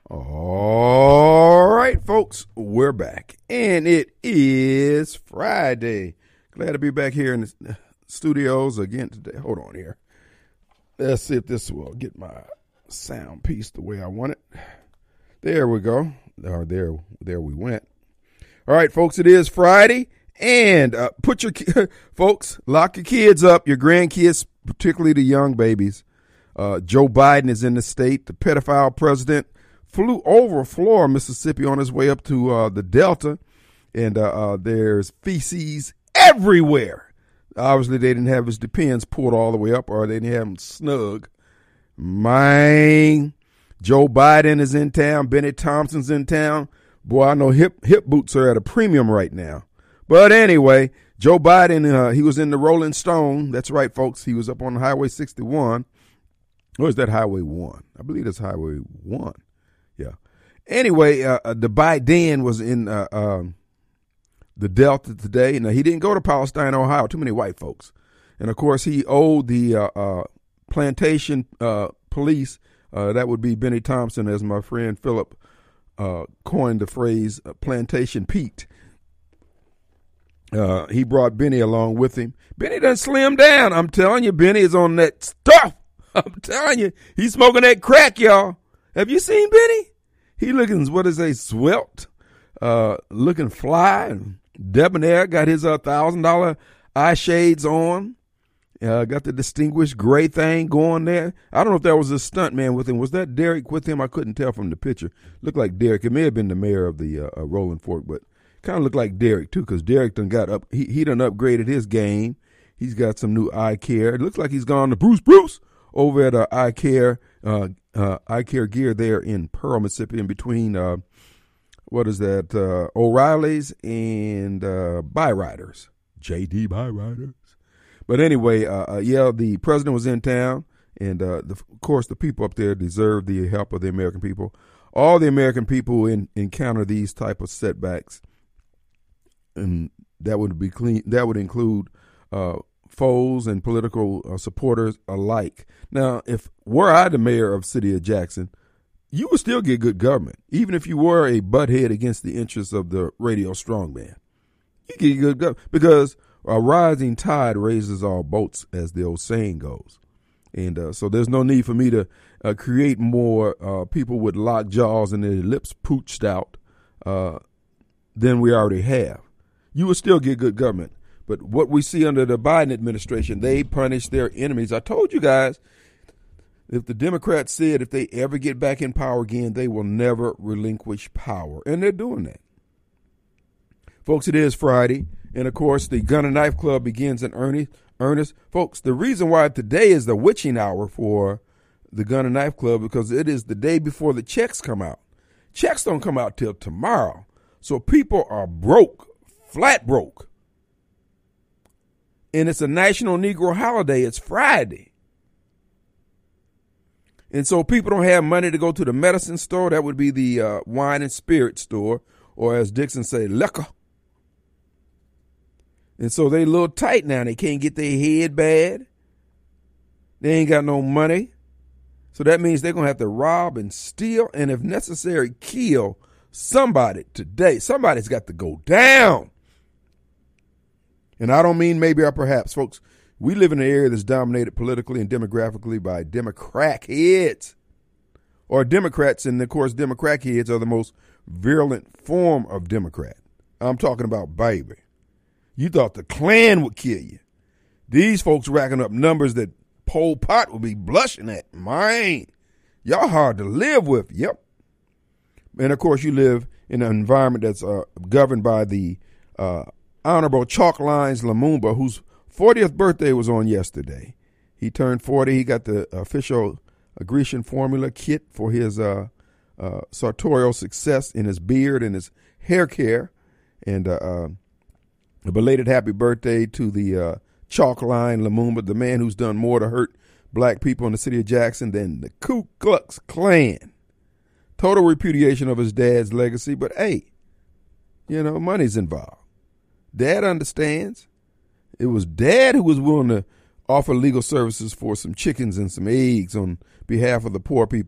All right, folks, we're back, and it is Friday. Glad to be back here in the studios again today. Hold on here. Let's see if this will get my sound piece the way I want it. There we go. Or there we went. All right, folks, it is Friday, and put your folks, lock your kids up, your grandkids, particularly the young babies. Joe Biden is in the state. The pedophile president flew over Florida, Mississippi on his way up to the Delta, and there's feces everywhere. Obviously, they didn't have his depends pulled all the way up, or they didn't have him snug. Man, Joe Biden is in town. Benny Thompson's in town. Boy, I know hip boots are at a premium right now. But anyway, Joe Biden, he was in the Rolling Stone. That's right, folks. He was up on Highway 61. Or is that Highway 1? I believe that's Highway 1. Yeah. Anyway, the Biden was in the Delta today. Now, he didn't go to Palestine, Ohio. Too many white folks. And, of course, he owed the plantation police, that would be Benny Thompson, as my friend Philip coined the phrase, Plantation Pete. He brought Benny along with him. Benny done slimmed down. I'm telling you, Benny is on that stuff. I'm telling you, he's smoking that crack, y'all. Have you seen Benny? He looking, svelte, looking fly and debonair. Got his $1,000 eye shades on. Got the distinguished gray thing going there. I don't know if that was a stunt man with him. Was that Derek with him? I couldn't tell from the picture. Looked like Derek. It may have been the mayor of the Rolling Fork, but kind of looked like Derek too, because Derek done got up. He done upgraded his game. He's got some new eye care. It looks like he's gone to Bruce over at eye care gear there in Pearl, Mississippi, in between O'Reilly's and Byriders, JD Byriders. But anyway, the president was in town, and of course the people up there deserve the help of the American people. All the American people encounter these type of setbacks, and that would be clean. That would include foes and political supporters alike. Now, if were I the mayor of City of Jackson, you would still get good government, even if you were a butthead against the interests of the radio strongman. You get good government because a rising tide raises all boats, as the old saying goes. And so there's no need for me to create more people with locked jaws and their lips pooched out than we already have. You would still get good government. But what we see under the Biden administration, they punish their enemies. I told you guys, if the Democrats said if they ever get back in power again, they will never relinquish power. And they're doing that. Folks, it is Friday. And, of course, the Gun and Knife Club begins in earnest. Folks, the reason why today is the witching hour for the Gun and Knife Club because it is the day before the checks come out. Checks don't come out till tomorrow. So people are broke, flat broke. And it's a National Negro holiday. It's Friday. And so people don't have money to go to the medicine store. That would be the wine and spirit store, or as Dixon say, liquor. And so they a little tight now. They can't get their head bad. They ain't got no money. So that means they're going to have to rob and steal and, if necessary, kill somebody today. Somebody's got to go down. And I don't mean maybe or perhaps, folks. We live in an area that's dominated politically and demographically by Democrat heads. Or Democrats, and of course, Democrat heads are the most virulent form of Democrat. I'm talking about baby. You thought the Klan would kill you. These folks racking up numbers that Pol Pot would be blushing at. Man, y'all hard to live with. Yep. And, of course, you live in an environment that's governed by the Honorable Chalk Lines Lumumba, whose 40th birthday was on yesterday. He turned 40. He got the official Grecian formula kit for his sartorial success in his beard and his hair care. And a belated happy birthday to the Chalk Line Lumumba, the man who's done more to hurt black people in the city of Jackson than the Ku Klux Klan. Total repudiation of his dad's legacy, but hey, money's involved. Dad understands. It was Dad who was willing to offer legal services for some chickens and some eggs on behalf of the poor people.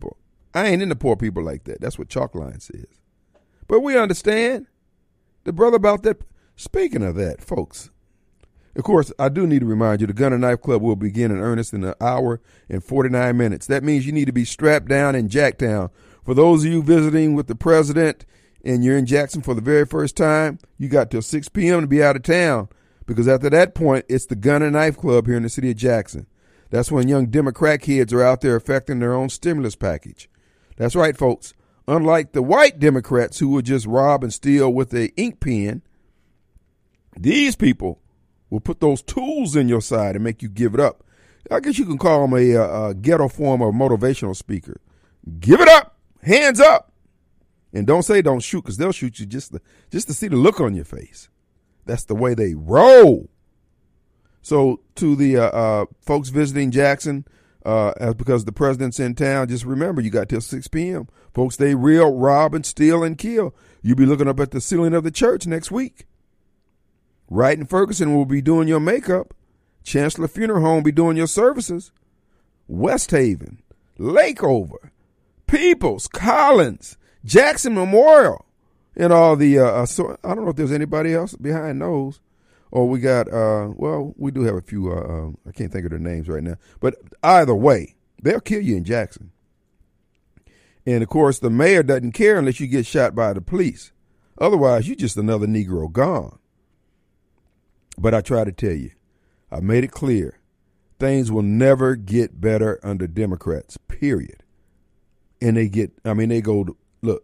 I ain't into poor people like that. That's what Chalkline says. But we understand the brother about that. Speaking of that, folks, of course, I do need to remind you the Gun and Knife Club will begin in earnest in an hour and 49 minutes. That means you need to be strapped down in Jacktown. For those of you visiting with the president and you're in Jackson for the very first time, you got till 6 p.m. to be out of town, because after that point, it's the Gun and Knife Club here in the city of Jackson. That's when young Democrat kids are out there affecting their own stimulus package. That's right, folks. Unlike the white Democrats who will just rob and steal with an ink pen, these people will put those tools in your side and make you give it up. I guess you can call them a ghetto form of motivational speaker. Give it up, hands up, and don't say don't shoot, because they'll shoot you just to see the look on your face. That's the way they roll. So to the folks visiting Jackson, because the president's in town, just remember you got till 6 p.m. Folks, they real rob and steal and kill. You'll be looking up at the ceiling of the church next week. Wright and Ferguson will be doing your makeup. Chancellor Funeral Home will be doing your services. West Haven, Lakeover, Peoples, Collins, Jackson Memorial, and all the, so I don't know if there's anybody else behind those. Or we got, well, we do have a few, I can't think of their names right now. But either way, they'll kill you in Jackson. And, of course, the mayor doesn't care unless you get shot by the police. Otherwise, you're just another Negro gone. But I try to tell you, I made it clear, things will never get better under Democrats, period. And they go, look,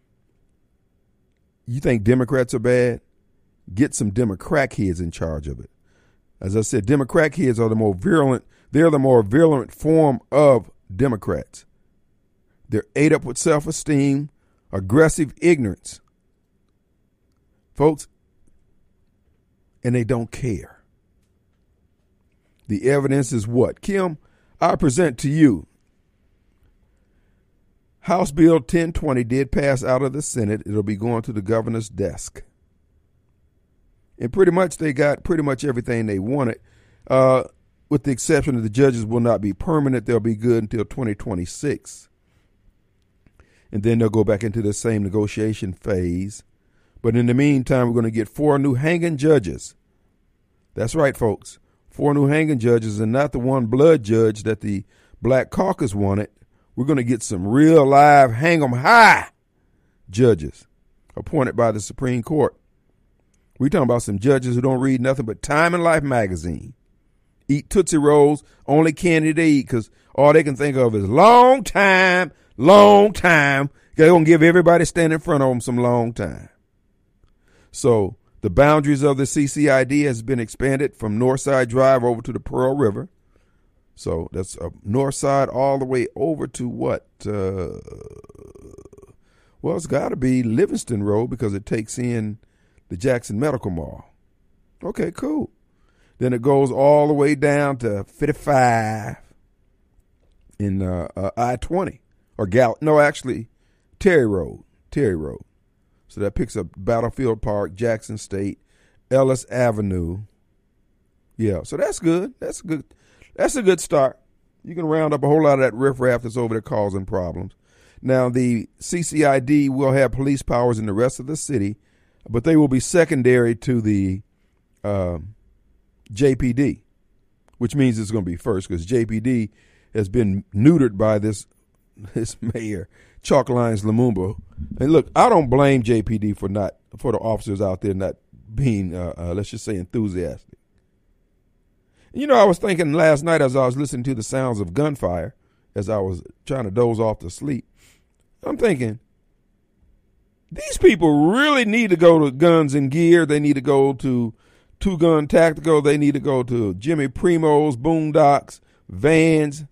you think Democrats are bad? Get some Democrat kids in charge of it. As I said, Democrat kids are the more virulent. They're the more virulent form of Democrats. They're ate up with self-esteem, aggressive ignorance. Folks, and they don't care. The evidence is what? Kim, I present to you. House Bill 1020 did pass out of the Senate. It'll be going to the governor's desk. And pretty much they got pretty much everything they wanted, with the exception that the judges will not be permanent. They'll be good until 2026. And then they'll go back into the same negotiation phase. But in the meantime, we're going to get 4 new hanging judges. That's right, folks. 4 new hanging judges, and not the one blood judge that the Black Caucus wanted. We're going to get some real live hang 'em high judges appointed by the Supreme Court. We're talking about some judges who don't read nothing but Time and Life magazine. Eat Tootsie Rolls, only candy they eat, because all they can think of is long time. They're going to give everybody standing in front of them some long time. So the boundaries of the CCID has been expanded from Northside Drive over to the Pearl River. So that's north side all the way over to what? Well, it's got to be Livingston Road, because it takes in the Jackson Medical Mall. Okay, cool. Then it goes all the way down to 55 in I-20 or Terry Road. So that picks up Battlefield Park, Jackson State, Ellis Avenue. Yeah, so that's good. That's a good start. You can round up a whole lot of that riffraff that's over there causing problems. Now, the CCID will have police powers in the rest of the city, but they will be secondary to the JPD, which means it's going to be first, because JPD has been neutered by this mayor, Chalk Lines Lumumba. And look, I don't blame JPD for the officers out there not being, let's just say, enthusiastic. You know, I was thinking last night as I was listening to the sounds of gunfire, as I was trying to doze off to sleep, I'm thinking, these people really need to go to Guns and Gear. They need to go to Two Gun Tactical. They need to go to Jimmy Primo's, Boondocks, Vans,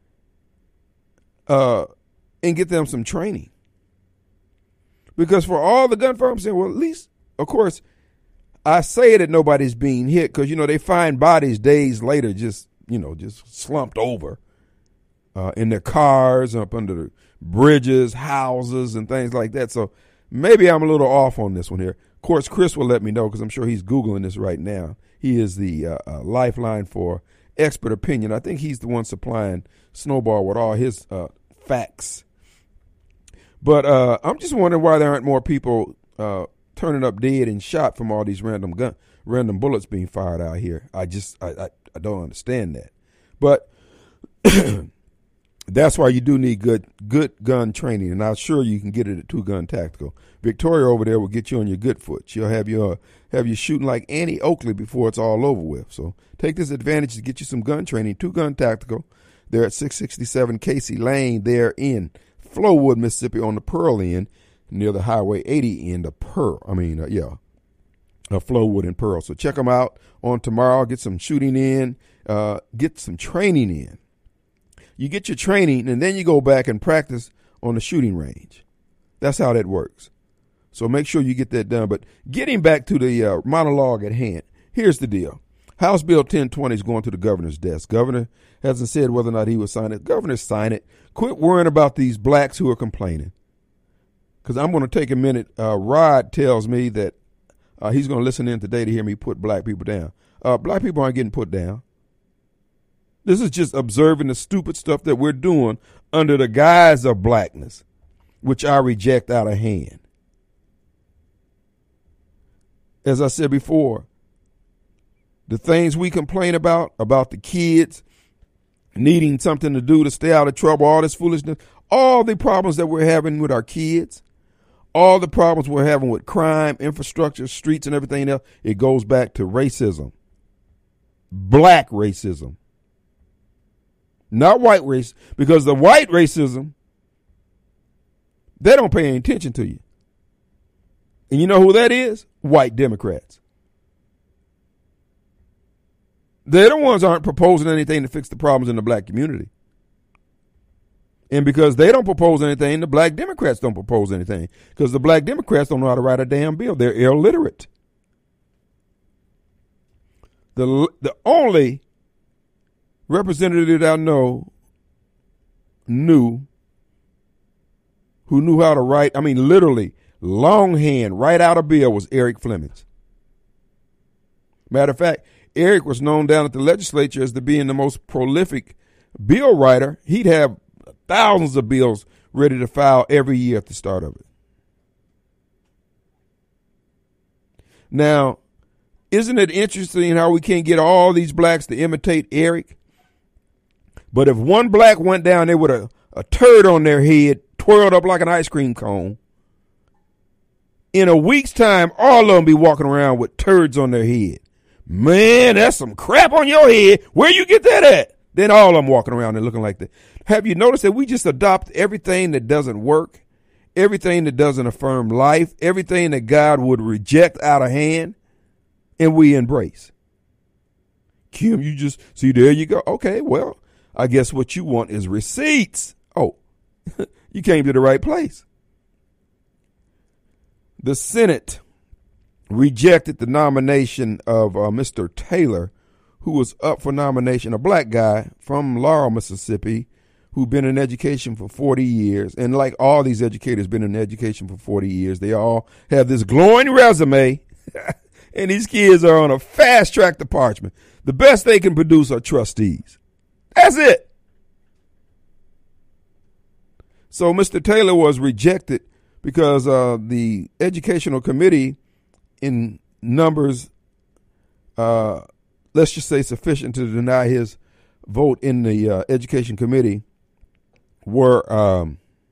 and get them some training. Because for all the gunfire, I'm saying, well, at least, of course, I say that nobody's being hit because, they find bodies days later just slumped over in their cars, up under the bridges, houses, and things like that. So maybe I'm a little off on this one here. Of course, Chris will let me know because I'm sure he's Googling this right now. He is the lifeline for expert opinion. I think he's the one supplying Snowball with all his facts But I'm just wondering why there aren't more people turning up dead and shot from all these random bullets being fired out here. I don't understand that. But that's why you do need good gun training, and I'm sure you can get it at Two Gun Tactical. Victoria over there will get you on your good foot. She'll have you shooting like Annie Oakley before it's all over with. So take this advantage to get you some gun training. Two Gun Tactical. They're at 667 Casey Lane. They're in Flowood, Mississippi, on the Pearl end, near the Highway 80 end of Pearl. Flowood and Pearl. So check them out on tomorrow. Get some shooting in. Get some training in. You get your training, and then you go back and practice on the shooting range. That's how that works. So make sure you get that done. But getting back to the monologue at hand, here's the deal. House Bill 1020 is going to the governor's desk. Governor hasn't said whether or not he will sign it. Governor, sign it. Quit worrying about these blacks who are complaining. Because I'm going to take a minute. Rod tells me that he's going to listen in today to hear me put black people down. Black people aren't getting put down. This is just observing the stupid stuff that we're doing under the guise of blackness, which I reject out of hand. As I said before, the things we complain about the kids needing something to do to stay out of trouble, all this foolishness, all the problems that we're having with our kids, all the problems we're having with crime, infrastructure, streets, and everything else, it goes back to racism. Black racism. Not white race, because the white racism, they don't pay any attention to you. And you know who that is? White Democrats. They're the ones who aren't proposing anything to fix the problems in the black community. And because they don't propose anything, the black Democrats don't propose anything. Because the black Democrats don't know how to write a damn bill. They're illiterate. The only representative that I know who knew how to write, literally, longhand, write out a bill was Eric Flemings. Matter of fact, Eric was known down at the legislature as being the most prolific bill writer. He'd have thousands of bills ready to file every year at the start of it. Now, isn't it interesting how we can't get all these blacks to imitate Eric? But if one black went down there with a turd on their head, twirled up like an ice cream cone, in a week's time, all of them be walking around with turds on their head. Man, that's some crap on your head. Where you get that at? Then all of them walking around there looking like that. Have you noticed that we just adopt everything that doesn't work, everything that doesn't affirm life, everything that God would reject out of hand, and we embrace? Kim, you just, see, there you go. Okay, well, I guess what you want is receipts. Oh, you came to the right place. The Senate rejected the nomination of Mr. Taylor, who was up for nomination, a black guy from Laurel, Mississippi, who'd been in education for 40 years. And like all these educators been in education for 40 years, they all have this glowing resume, and these kids are on a fast track to parchment. The best they can produce are trustees. That's it. So Mr. Taylor was rejected because the educational committee, in numbers, let's just say sufficient to deny his vote in the education committee, were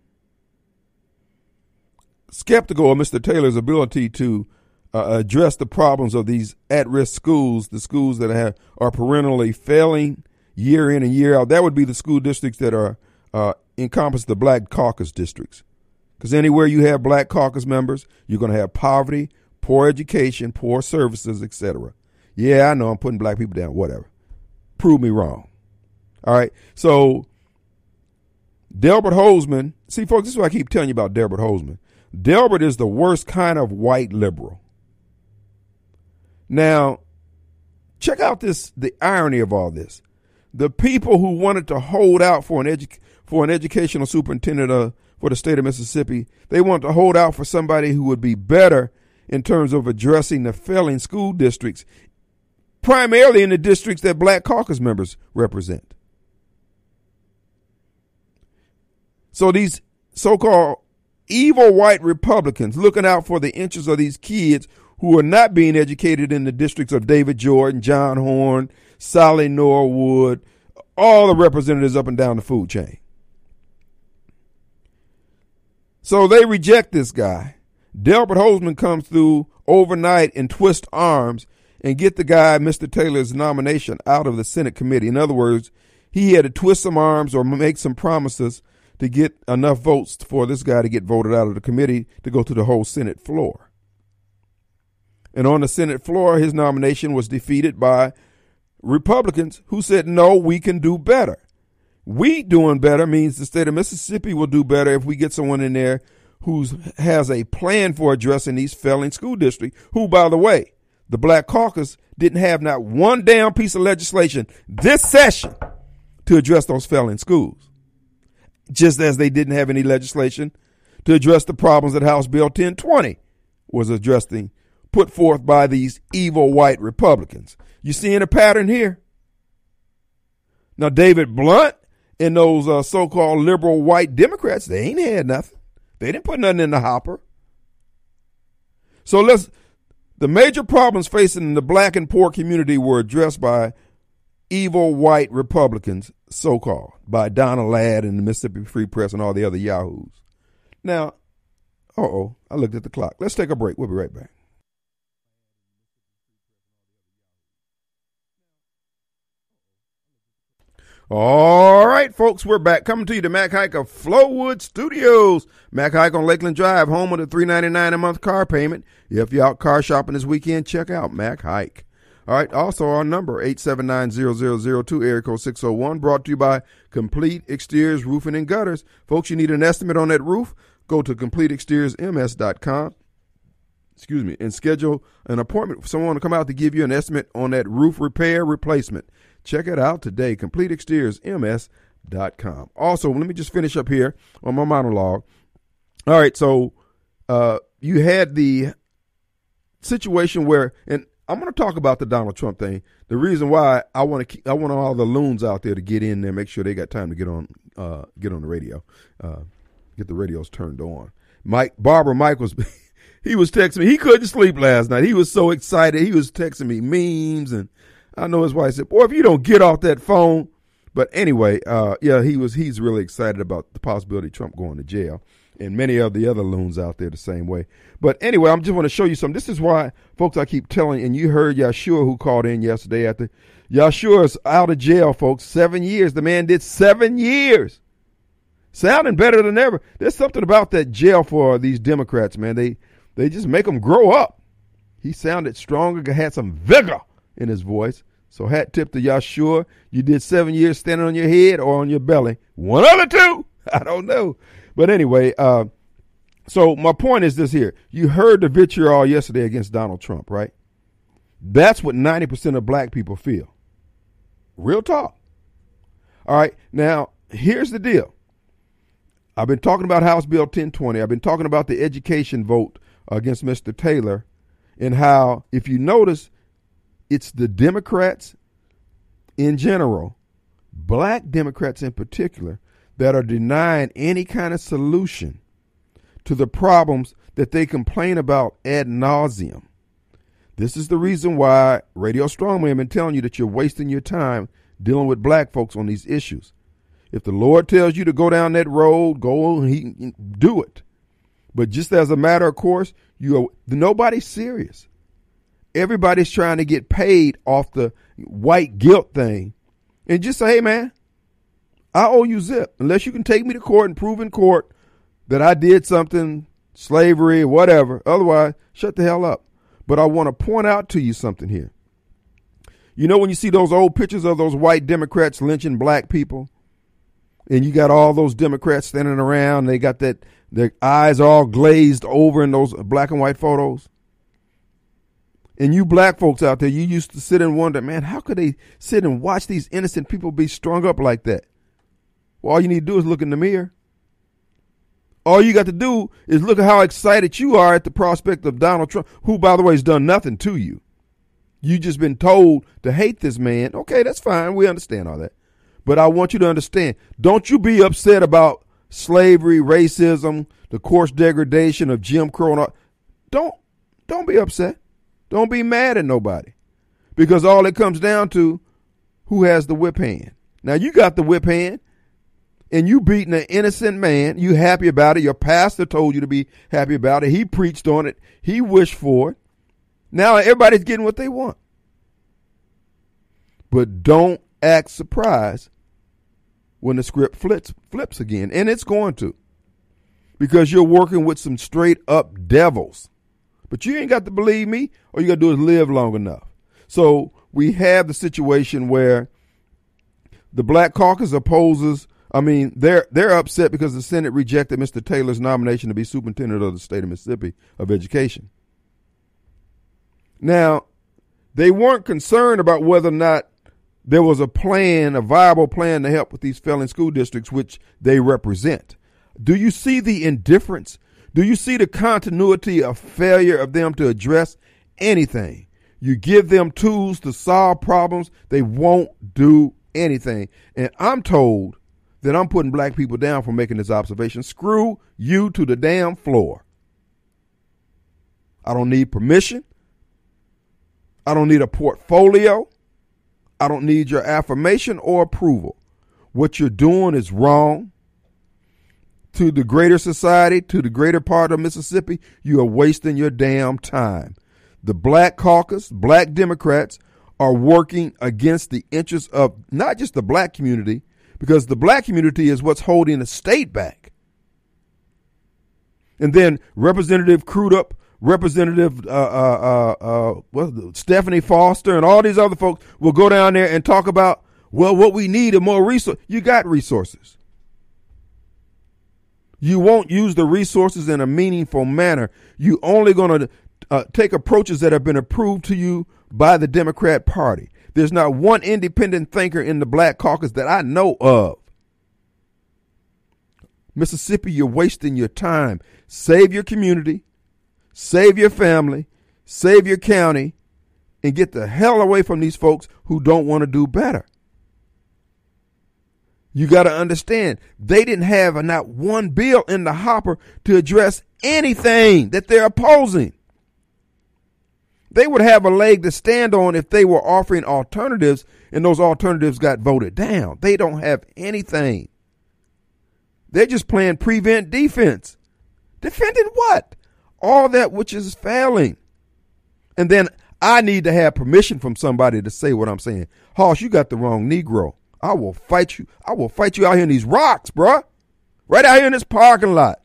skeptical of Mr. Taylor's ability to address the problems of these at-risk schools, the schools that are perennially failing year in and year out. That would be the school districts that are encompass the Black Caucus districts. Because anywhere you have Black Caucus members, you're going to have poverty, poor education, poor services, etc. Yeah, I know I'm putting black people down, whatever. Prove me wrong. All right. So Delbert Hosemann, see, folks, this is what I keep telling you about Delbert Hosemann. Delbert is the worst kind of white liberal. Now, check out the irony of all this. The people who wanted to hold out for an educational superintendent for the state of Mississippi, they wanted to hold out for somebody who would be better in terms of addressing the failing school districts, primarily in the districts that Black Caucus members represent. So these so-called evil white Republicans looking out for the interests of these kids who are not being educated in the districts of David Jordan, John Horn, Sally Norwood, all the representatives up and down the food chain. So they reject this guy. Delbert Hosemann comes through overnight and twist arms and get the guy, Mr. Taylor's nomination, out of the Senate committee. In other words, he had to twist some arms or make some promises to get enough votes for this guy to get voted out of the committee to go to the whole Senate floor. And on the Senate floor, his nomination was defeated by Republicans who said, no, we can do better. We doing better means the state of Mississippi will do better if we get someone in there who has a plan for addressing these failing school districts, who, by the way, the Black Caucus didn't have not one damn piece of legislation this session to address those failing schools, just as they didn't have any legislation to address the problems that House Bill 1020 was addressing, put forth by these evil white Republicans. You seeing a pattern here? Now, David Blunt and those so-called liberal white Democrats, they ain't had nothing. They didn't put nothing in the hopper. So the major problems facing the black and poor community were addressed by evil white Republicans, so-called, by Donna Ladd and the Mississippi Free Press and all the other yahoos. Now, I looked at the clock. Let's take a break. We'll be right back. All right, folks, we're back. Coming to you to Mac Haik of Flowood Studios. Mac Haik on Lakeland Drive, home of the $399 a month car payment. If you're out car shopping this weekend, check out Mac Haik. All right, also our number, 879-0002, area code 601, brought to you by Complete Exteriors Roofing and Gutters. Folks, you need an estimate on that roof? Go to CompleteExteriorsMS.com. And schedule an appointment for someone to come out to give you an estimate on that roof repair replacement. Check it out today, CompleteExteriorsMS.com. Also, let me just finish up here on my monologue. All right, so you had the situation where, and I'm going to talk about the Donald Trump thing. The reason why I want all the loons out there to get in there, make sure they got time to get on the radio, get the radios turned on. Barbara Michaels, he was texting me. He couldn't sleep last night. He was so excited. He was texting me memes, and I know his wife said, boy, if you don't get off that phone. But anyway, he's really excited about the possibility of Trump going to jail, and many of the other loons out there the same way. But anyway, I just want to show you something. This is why, folks, I keep telling, and you heard Yeshua who called in yesterday after. Yeshua's out of jail, folks, 7 years. The man did 7 years. Sounding better than ever. There's something about that jail for these Democrats, man. They just make them grow up. He sounded stronger, had some vigor in his voice. So hat tip to Yeshua. You did 7 years standing on your head or on your belly. One of the two. I don't know. But anyway, so my point is this here. You heard the vitriol yesterday against Donald Trump, right? That's what 90% of black people feel. Real talk. All right. Now, here's the deal. I've been talking about House Bill 1020. I've been talking about the education vote against Mr. Taylor, and how, if you notice, it's the Democrats in general, black Democrats in particular, that are denying any kind of solution to the problems that they complain about ad nauseum. This is the reason why Radio Strongman have been telling you that you're wasting your time dealing with black folks on these issues. If the Lord tells you to go down that road, go and do it. But just as a matter of course, nobody's serious. Everybody's trying to get paid off the white guilt thing. And just say, hey, man, I owe you zip. Unless you can take me to court and prove in court that I did something, slavery, whatever. Otherwise, shut the hell up. But I want to point out to you something here. You know, when you see those old pictures of those white Democrats lynching black people, and you got all those Democrats standing around, they got their eyes all glazed over in those black and white photos. And you black folks out there, you used to sit and wonder, man, how could they sit and watch these innocent people be strung up like that? Well, all you need to do is look in the mirror. All you got to do is look at how excited you are at the prospect of Donald Trump, who, by the way, has done nothing to you. You just been told to hate this man. Okay, that's fine. We understand all that. But I want you to understand, don't you be upset about slavery, racism, the coarse degradation of Jim Crow. And all. Don't be upset. Don't be mad at nobody, because all it comes down to who has the whip hand. Now you got the whip hand, and you beating an innocent man. You happy about it. Your pastor told you to be happy about it. He preached on it. He wished for it. Now everybody's getting what they want. But don't act surprised when the script flips again, and it's going to, because you're working with some straight up devils. But you ain't got to believe me. All you got to do is live long enough. So we have the situation where the Black Caucus opposes. I mean, they're upset because the Senate rejected Mr. Taylor's nomination to be superintendent of the state of Mississippi of education. Now, they weren't concerned about whether or not there was a plan, a viable plan to help with these failing school districts, which they represent. Do you see the indifference? Do you see the continuity of failure of them to address anything? You give them tools to solve problems, they won't do anything. And I'm told that I'm putting black people down for making this observation. Screw you to the damn floor. I don't need permission. I don't need a portfolio. I don't need your affirmation or approval. What you're doing is wrong. To the greater society, to the greater part of Mississippi, you are wasting your damn time. The Black Caucus, black Democrats, are working against the interests of not just the black community, because the black community is what's holding the state back. And then Representative Crudup, Representative Stephanie Foster, and all these other folks will go down there and talk about, well, what we need are more resources. You got resources. You won't use the resources in a meaningful manner. You only going to take approaches that have been approved to you by the Democrat Party. There's not one independent thinker in the Black Caucus that I know of. Mississippi, you're wasting your time. Save your community, save your family, save your county, and get the hell away from these folks who don't want to do better. You got to understand, they didn't have not one bill in the hopper to address anything that they're opposing. They would have a leg to stand on if they were offering alternatives, and those alternatives got voted down. They don't have anything. They're just playing prevent defense. Defending what? All that which is failing. And then I need to have permission from somebody to say what I'm saying. Hoss, you got the wrong Negro. I will fight you. I will fight you out here in these rocks, bruh. Right out here in this parking lot.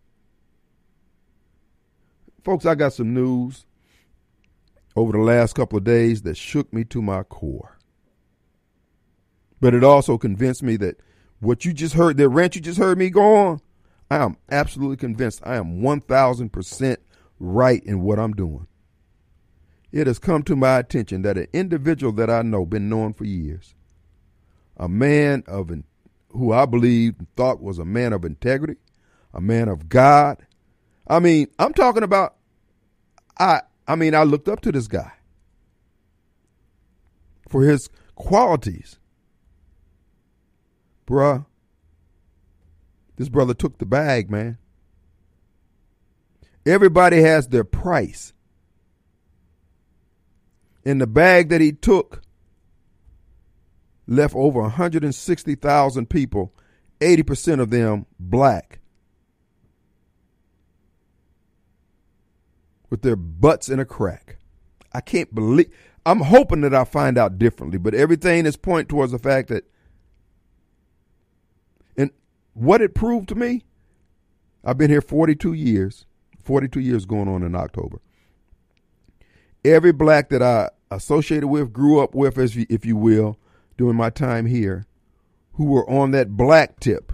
Folks, I got some news over the last couple of days that shook me to my core. But it also convinced me that what you just heard, that rant you just heard me go on, I am absolutely convinced I am 1,000% right in what I'm doing. It has come to my attention that an individual that I know, been knowing for years, a man of who I believe thought was a man of integrity, a man of God. I mean, I'm talking about, I looked up to this guy for his qualities. Bruh, this brother took the bag, man. Everybody has their price. And the bag that he took left over 160,000 people, 80% of them black, with their butts in a crack. I can't believe, I'm hoping that I find out differently, but everything is pointing towards the fact that, and what it proved to me, I've been here 42 years going on in October. Every black that I associated with, grew up with, if you will, during my time here, who were on that black tip,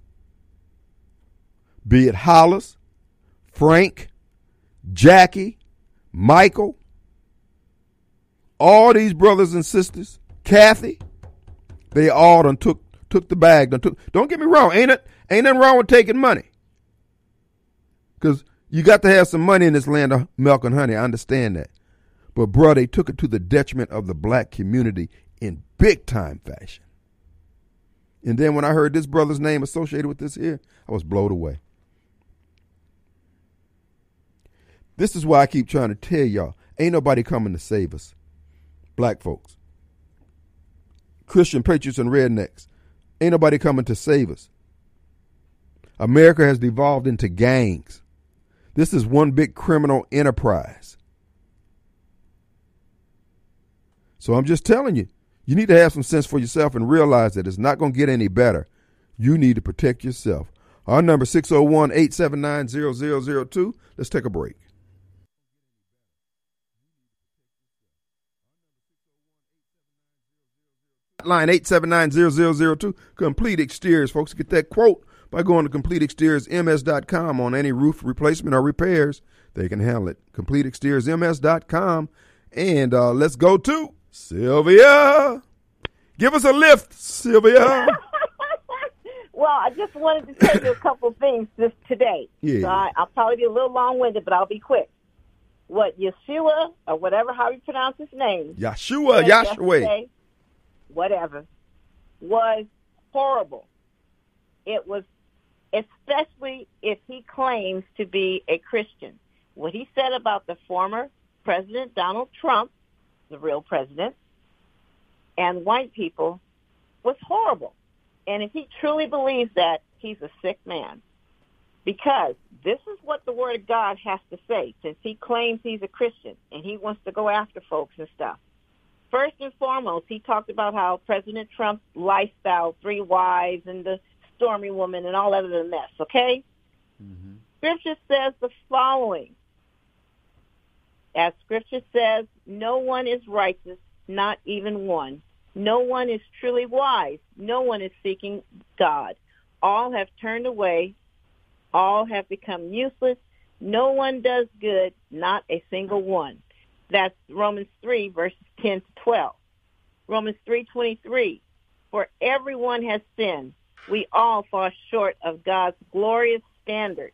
be it Hollis, Frank, Jackie, Michael, all these brothers and sisters, Kathy, they all done took the bag. Don't get me wrong, ain't nothing wrong with taking money, because you got to have some money in this land of milk and honey. I understand that. But, bro, they took it to the detriment of the black community in big-time fashion. And then when I heard this brother's name associated with this here, I was blown away. This is why I keep trying to tell y'all, ain't nobody coming to save us. Black folks, Christian patriots and rednecks, ain't nobody coming to save us. America has devolved into gangs. This is one big criminal enterprise. So I'm just telling you, you need to have some sense for yourself and realize that it's not going to get any better. You need to protect yourself. Our number 601-879-0002. Let's take a break. Line 879-0002. Complete Exteriors, folks. Get that quote by going to CompleteExteriorsMS.com on any roof replacement or repairs. They can handle it. CompleteExteriorsMS.com. And let's go to Sylvia. Give us a lift, Sylvia. Well, I just wanted to tell you a couple things just today. Yeah. So I'll probably be a little long-winded, but I'll be quick. What Yeshua, or whatever, how you pronounce his name. Yahshua. Whatever, was horrible. It was, especially if he claims to be a Christian. What he said about the former President Donald Trump, the real president, and white people was horrible. And if he truly believes that, he's a sick man. Because this is what the Word of God has to say, since he claims he's a Christian and he wants to go after folks and stuff. First and foremost, he talked about how President Trump's lifestyle, 3 wives and the Stormy woman and all that other mess, okay? Mm-hmm. Scripture says the following. As Scripture says, no one is righteous, not even one. No one is truly wise. No one is seeking God. All have turned away. All have become useless. No one does good, not a single one. That's Romans 3, verses 10 to 12. Romans 3:23. For everyone has sinned. We all fall short of God's glorious standard.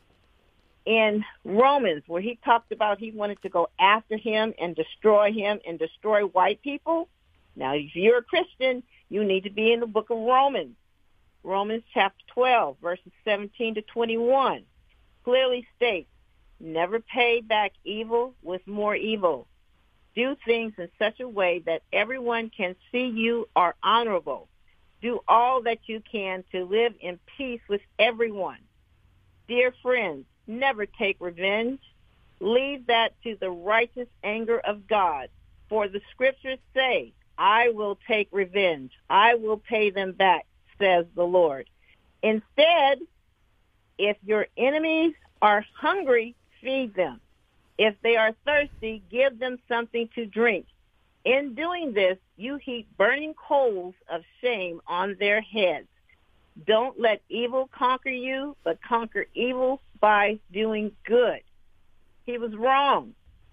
In Romans, where he talked about he wanted to go after him and destroy white people. Now, if you're a Christian, you need to be in the book of Romans. Romans chapter 12, verses 17 to 21, clearly states, never pay back evil with more evil. Do things in such a way that everyone can see you are honorable. Do all that you can to live in peace with everyone. Dear friends, never take revenge. Leave that to the righteous anger of God. For the scriptures say, I will take revenge. I will pay them back, says the Lord. Instead, if your enemies are hungry, feed them. If they are thirsty, give them something to drink. In doing this, you heap burning coals of shame on their heads. Don't let evil conquer you, but conquer evil by doing good. He was wrong.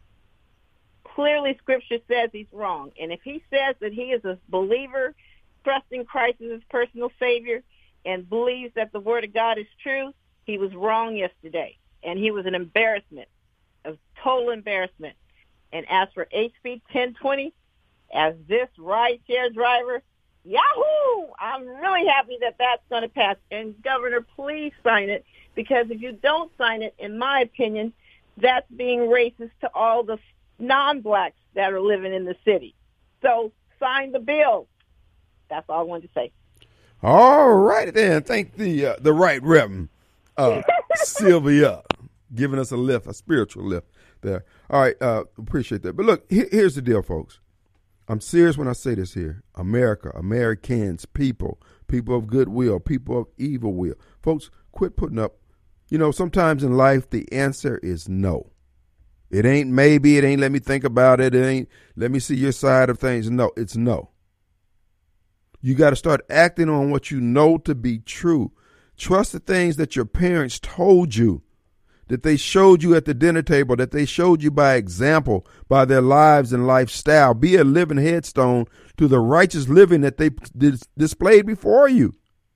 Clearly, Scripture says he's wrong. And if he says that he is a believer, trusting Christ as his personal Savior, and believes that the Word of God is true, he was wrong yesterday. And he was an embarrassment, a total embarrassment. And as for HB 1020, as this rideshare driver, yahoo! I'm really happy that that's going to pass. And, Governor, please sign it, because if you don't sign it, in my opinion, that's being racist to all the non-blacks that are living in the city. So sign the bill. That's all I wanted to say. All right, then. Thank the right Reverend Sylvia giving us a lift, a spiritual lift there. All right, appreciate that. But look, here's the deal, folks. I'm serious when I say this here. America, Americans, people of goodwill, people of evil will. Folks, quit putting up. You know, sometimes in life, the answer is no. It ain't maybe. It ain't let me think about it. It ain't let me see your side of things. No, it's no. You got to start acting on what you know to be true. Trust the things that your parents told you, that they showed you at the dinner table, that they showed you by example, by their lives and lifestyle. Be a living headstone to the righteous living that they displayed before you.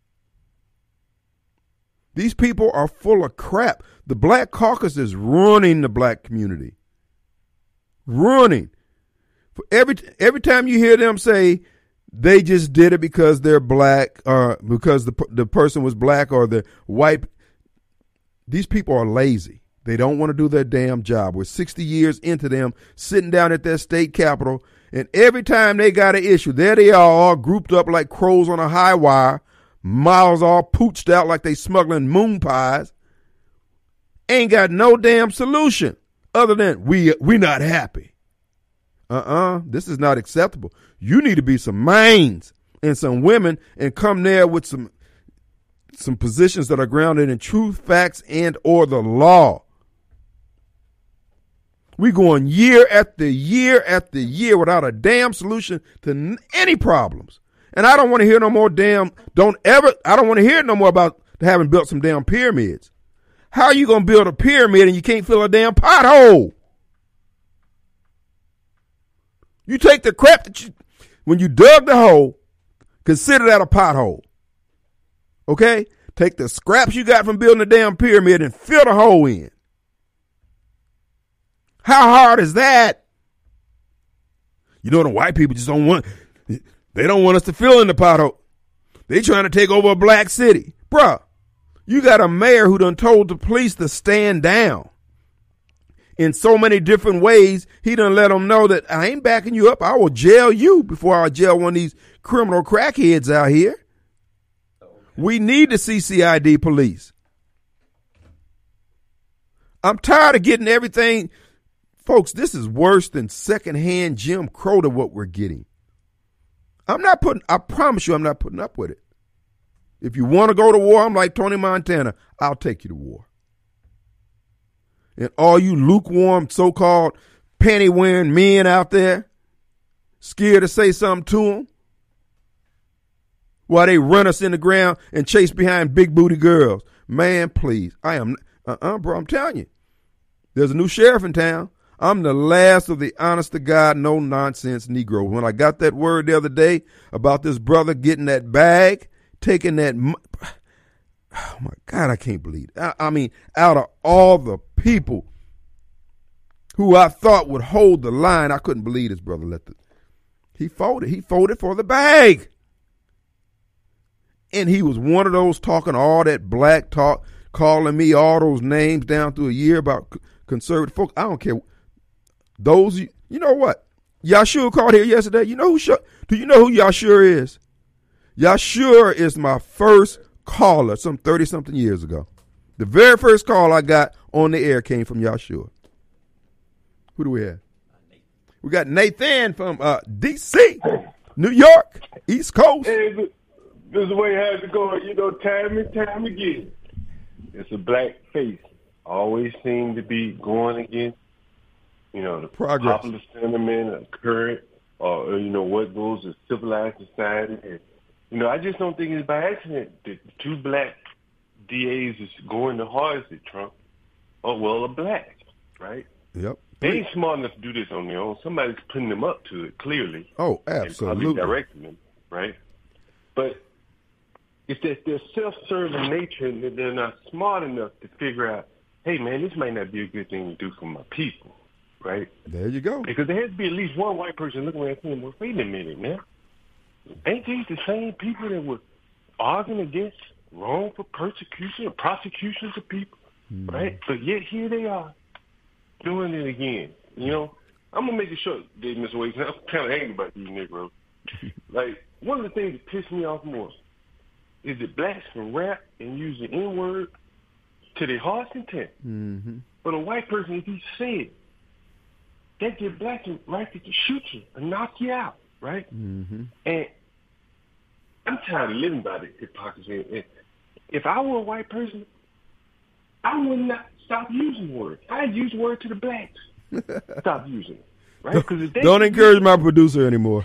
These people are full of crap. The Black Caucus is ruining the black community. Ruining. Every time you hear them say they just did it because they're black or because the person was black or the white, these people are lazy. They don't want to do their damn job. We're 60 years into them sitting down at their state capitol, and every time they got an issue, there they are all grouped up like crows on a high wire, mouths all pooched out like they smuggling moon pies. Ain't got no damn solution other than we not happy. This is not acceptable. You need to be some minds and some women and come there with some positions that are grounded in truth, facts, and or the law. We going year after year after year without a damn solution to any problems. And I don't want to hear no more I don't want to hear no more about having built some damn pyramids. How are you going to build a pyramid and you can't fill a damn pothole? You take the crap that when you dug the hole, consider that a pothole. Okay? Take the scraps you got from building a damn pyramid and fill the hole in. How hard is that? You know, the white people just don't want us to fill in the pothole. They trying to take over a black city. Bruh, you got a mayor who done told the police to stand down. In so many different ways, he done let them know that I ain't backing you up. I will jail you before I jail one of these criminal crackheads out here. We need the CCID police. I'm tired of getting everything. Folks, this is worse than secondhand Jim Crow to what we're getting. I promise you I'm not putting up with it. If you want to go to war, I'm like Tony Montana. I'll take you to war. And all you lukewarm, so-called panty-wearing men out there, scared to say something to them, while they run us in the ground and chase behind big booty girls. Man, please. I am, bro, I'm telling you. There's a new sheriff in town. I'm the last of the honest to God, no nonsense Negroes. When I got that word the other day about this brother getting that bag, taking that, oh my God, I can't believe it. I mean, out of all the people who I thought would hold the line, I couldn't believe this brother he folded. He folded for the bag. And he was one of those talking all that black talk, calling me all those names down through a year about conservative folks. I don't care. Those, you know what? Yashur called here yesterday. Do you know who Yashur is? Yashur is my first caller some 30-something years ago. The very first call I got on the air came from Yashur. Who do we have? We got Nathan from D.C., New York, East Coast. Hey, this is the way it has to go, time and time again. It's a black face. Always seem to be going against, the progress, popular sentiment, or current, or, what goes to civilized society. And, I just don't think it's by accident that the two black DAs is going the hardest at Trump are black, right? Yep. They ain't smart enough to do this on their own. Somebody's putting them up to it, clearly. Oh, absolutely. And probably directing them, right? But it's that they're self-serving nature and that they're not smart enough to figure out, hey, man, this might not be a good thing to do for my people, right? There you go. Because there has to be at least one white person looking at them, well, wait a minute, man. Ain't these the same people that were arguing against wrongful persecution or prosecutions of people, right? But yet here they are doing it again. I'm going to make it short, Dave, Mr. Wade. I'm kind of angry about these Negroes. Like, one of the things that piss me off more is that blacks can rap and use the N-word to their heart's content. Mm-hmm. But a white person, if he said, they get blacks right to shoot you and knock you out, right? Mm-hmm. And I'm tired of living by the hypocrisy. And if I were a white person, I would not stop using words. I'd use words to the blacks. Stop using it, right? Don't encourage my producer anymore.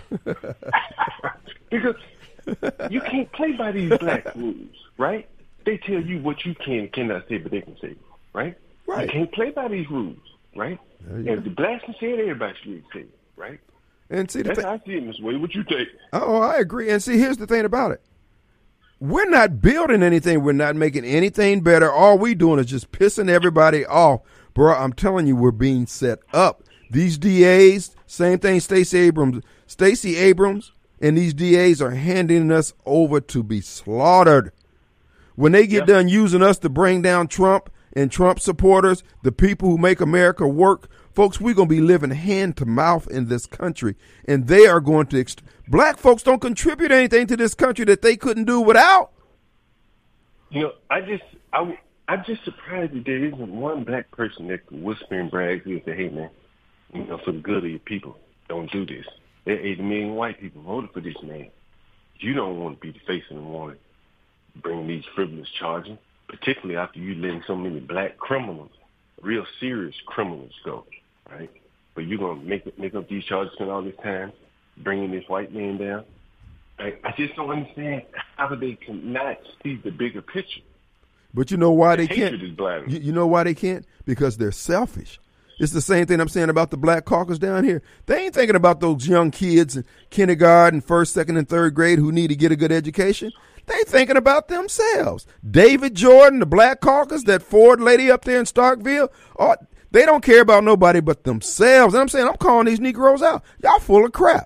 Because you can't play by these black rules, right? They tell you what you can and cannot say, but they can say, right? Right. You can't play by these rules, right? And if the blacks can say it, everybody should say it, right? And see, that's how I see it, Mr. Wade. What you think? Oh, I agree. And see, here's the thing about it. We're not building anything. We're not making anything better. All we doing is just pissing everybody off. Bro, I'm telling you, we're being set up. These DAs, same thing, Stacey Abrams, and these DAs are handing us over to be slaughtered. When they get done using us to bring down Trump and Trump supporters, the people who make America work, folks, we're going to be living hand to mouth in this country. And they are going to, black folks don't contribute anything to this country that they couldn't do without. You know, I'm just surprised that there isn't one black person that can whisper and brag and say, hey, man, you know, for the good of your people, don't do this. There are 80 million white people voted for this man. You don't want to be the face of the warning, bringing these frivolous charges, particularly after you letting so many black criminals, real serious criminals go, right? But you're going to make up these charges spend all this time bringing this white man down. I just don't understand how they cannot see the bigger picture. But you know why they can't? Hatred is blind. You know why they can't? Because they're selfish. It's the same thing I'm saying about the Black Caucus down here. They ain't thinking about those young kids in kindergarten, first, second, and third grade who need to get a good education. They thinking about themselves. David Jordan, the Black Caucus, that Ford lady up there in Starkville, they don't care about nobody but themselves. And I'm saying, I'm calling these Negroes out. Y'all full of crap.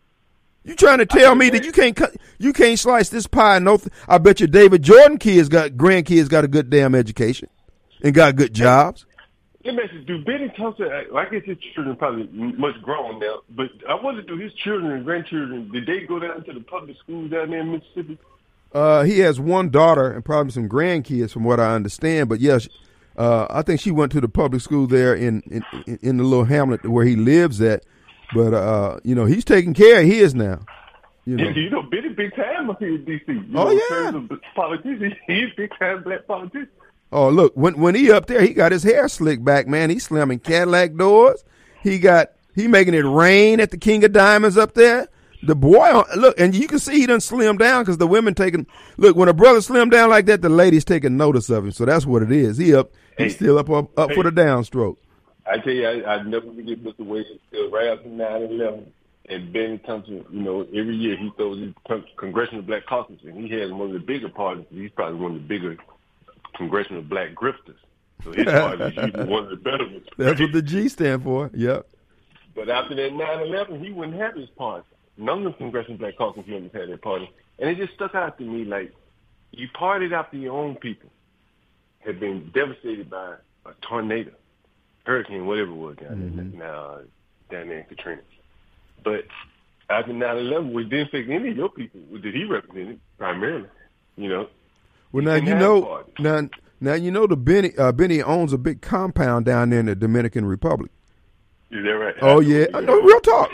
You trying to tell me that you can't slice this pie? I bet you David Jordan grandkids got a good damn education and got good jobs. Let me ask you, do Benny Thompson, I guess his children probably much grown now, but I wonder, do his children and grandchildren, did they go down to the public schools down there in Mississippi? He has one daughter and probably some grandkids from what I understand, but yes, I think she went to the public school there in the little hamlet where he lives at. But, he's taking care of his now. Yeah, Benny big time up here in D.C. In terms of politics, he's big time black politician. Oh, look, when he up there, he got his hair slicked back, man. He's slamming Cadillac doors. He making it rain at the King of Diamonds up there. The boy, look, and you can see he done slimmed down because the women look, when a brother slim down like that, the ladies taking notice of him. So that's what it is. He's still up for the downstroke. I tell you, I never forget Mr. Wade still right after 9/11, and Benny Thompson. Every year he throws his Congressional Black Caucus, and he has one of the bigger parties. He's probably one of the bigger Congressional Black Grifters. So his party is usually one of the better ones. That's what the G stand for. Yep. But after that 9/11, he wouldn't have his party. None of the Congressional Black Caucus members had their party, and it just stuck out to me like you partied after your own people had been devastated by a tornado. Hurricane, whatever it was down there in Katrina. But after 9/11, we didn't think any of your people did he represent it primarily, Well, now the Benny owns a big compound down there in the Dominican Republic. Is that right? Oh yeah, no, real talk.